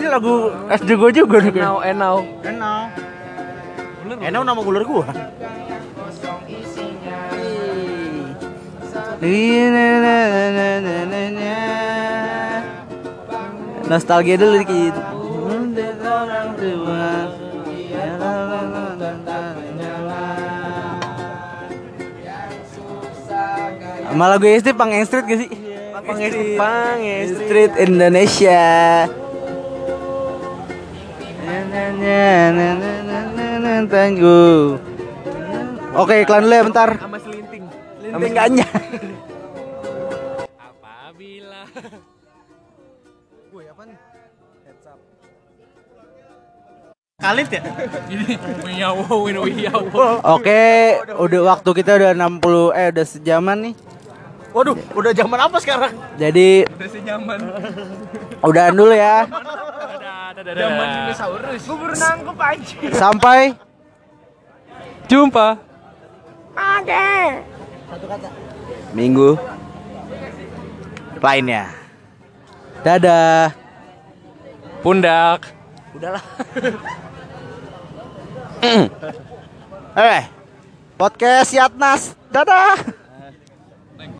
Speaker 4: lagu S D gue juga nih.
Speaker 3: Enau, enau.
Speaker 4: Enau.
Speaker 2: Enau nama ular gua.
Speaker 4: Nostalgia dulu dikit. Sama lagu S D Pang Street gak sih?
Speaker 3: Pang Street, Pang
Speaker 4: Street Indonesia. Tunggu. Oke, iklan dulu ya bentar.
Speaker 3: Sama selinting.
Speaker 4: Linting gaknya.
Speaker 1: Apabila
Speaker 4: Woi, apa nih?
Speaker 2: Kalit ya?
Speaker 1: Wiyawo, wiyawo.
Speaker 4: Oke, udah waktu kita udah enam puluh eh udah sejaman nih.
Speaker 2: Waduh, udah zaman apa sekarang?
Speaker 4: Jadi
Speaker 3: Udah sejaman.
Speaker 4: udahan dulu ya.
Speaker 1: Zaman
Speaker 3: Dinosaurus. Gue baru nangkep anjir.
Speaker 4: Sampai
Speaker 3: Jumpa.
Speaker 4: minggu
Speaker 2: Lainnya.
Speaker 4: dadah.
Speaker 1: Pundak.
Speaker 4: Udahlah. Eh, podcast Yatnas. Dadah.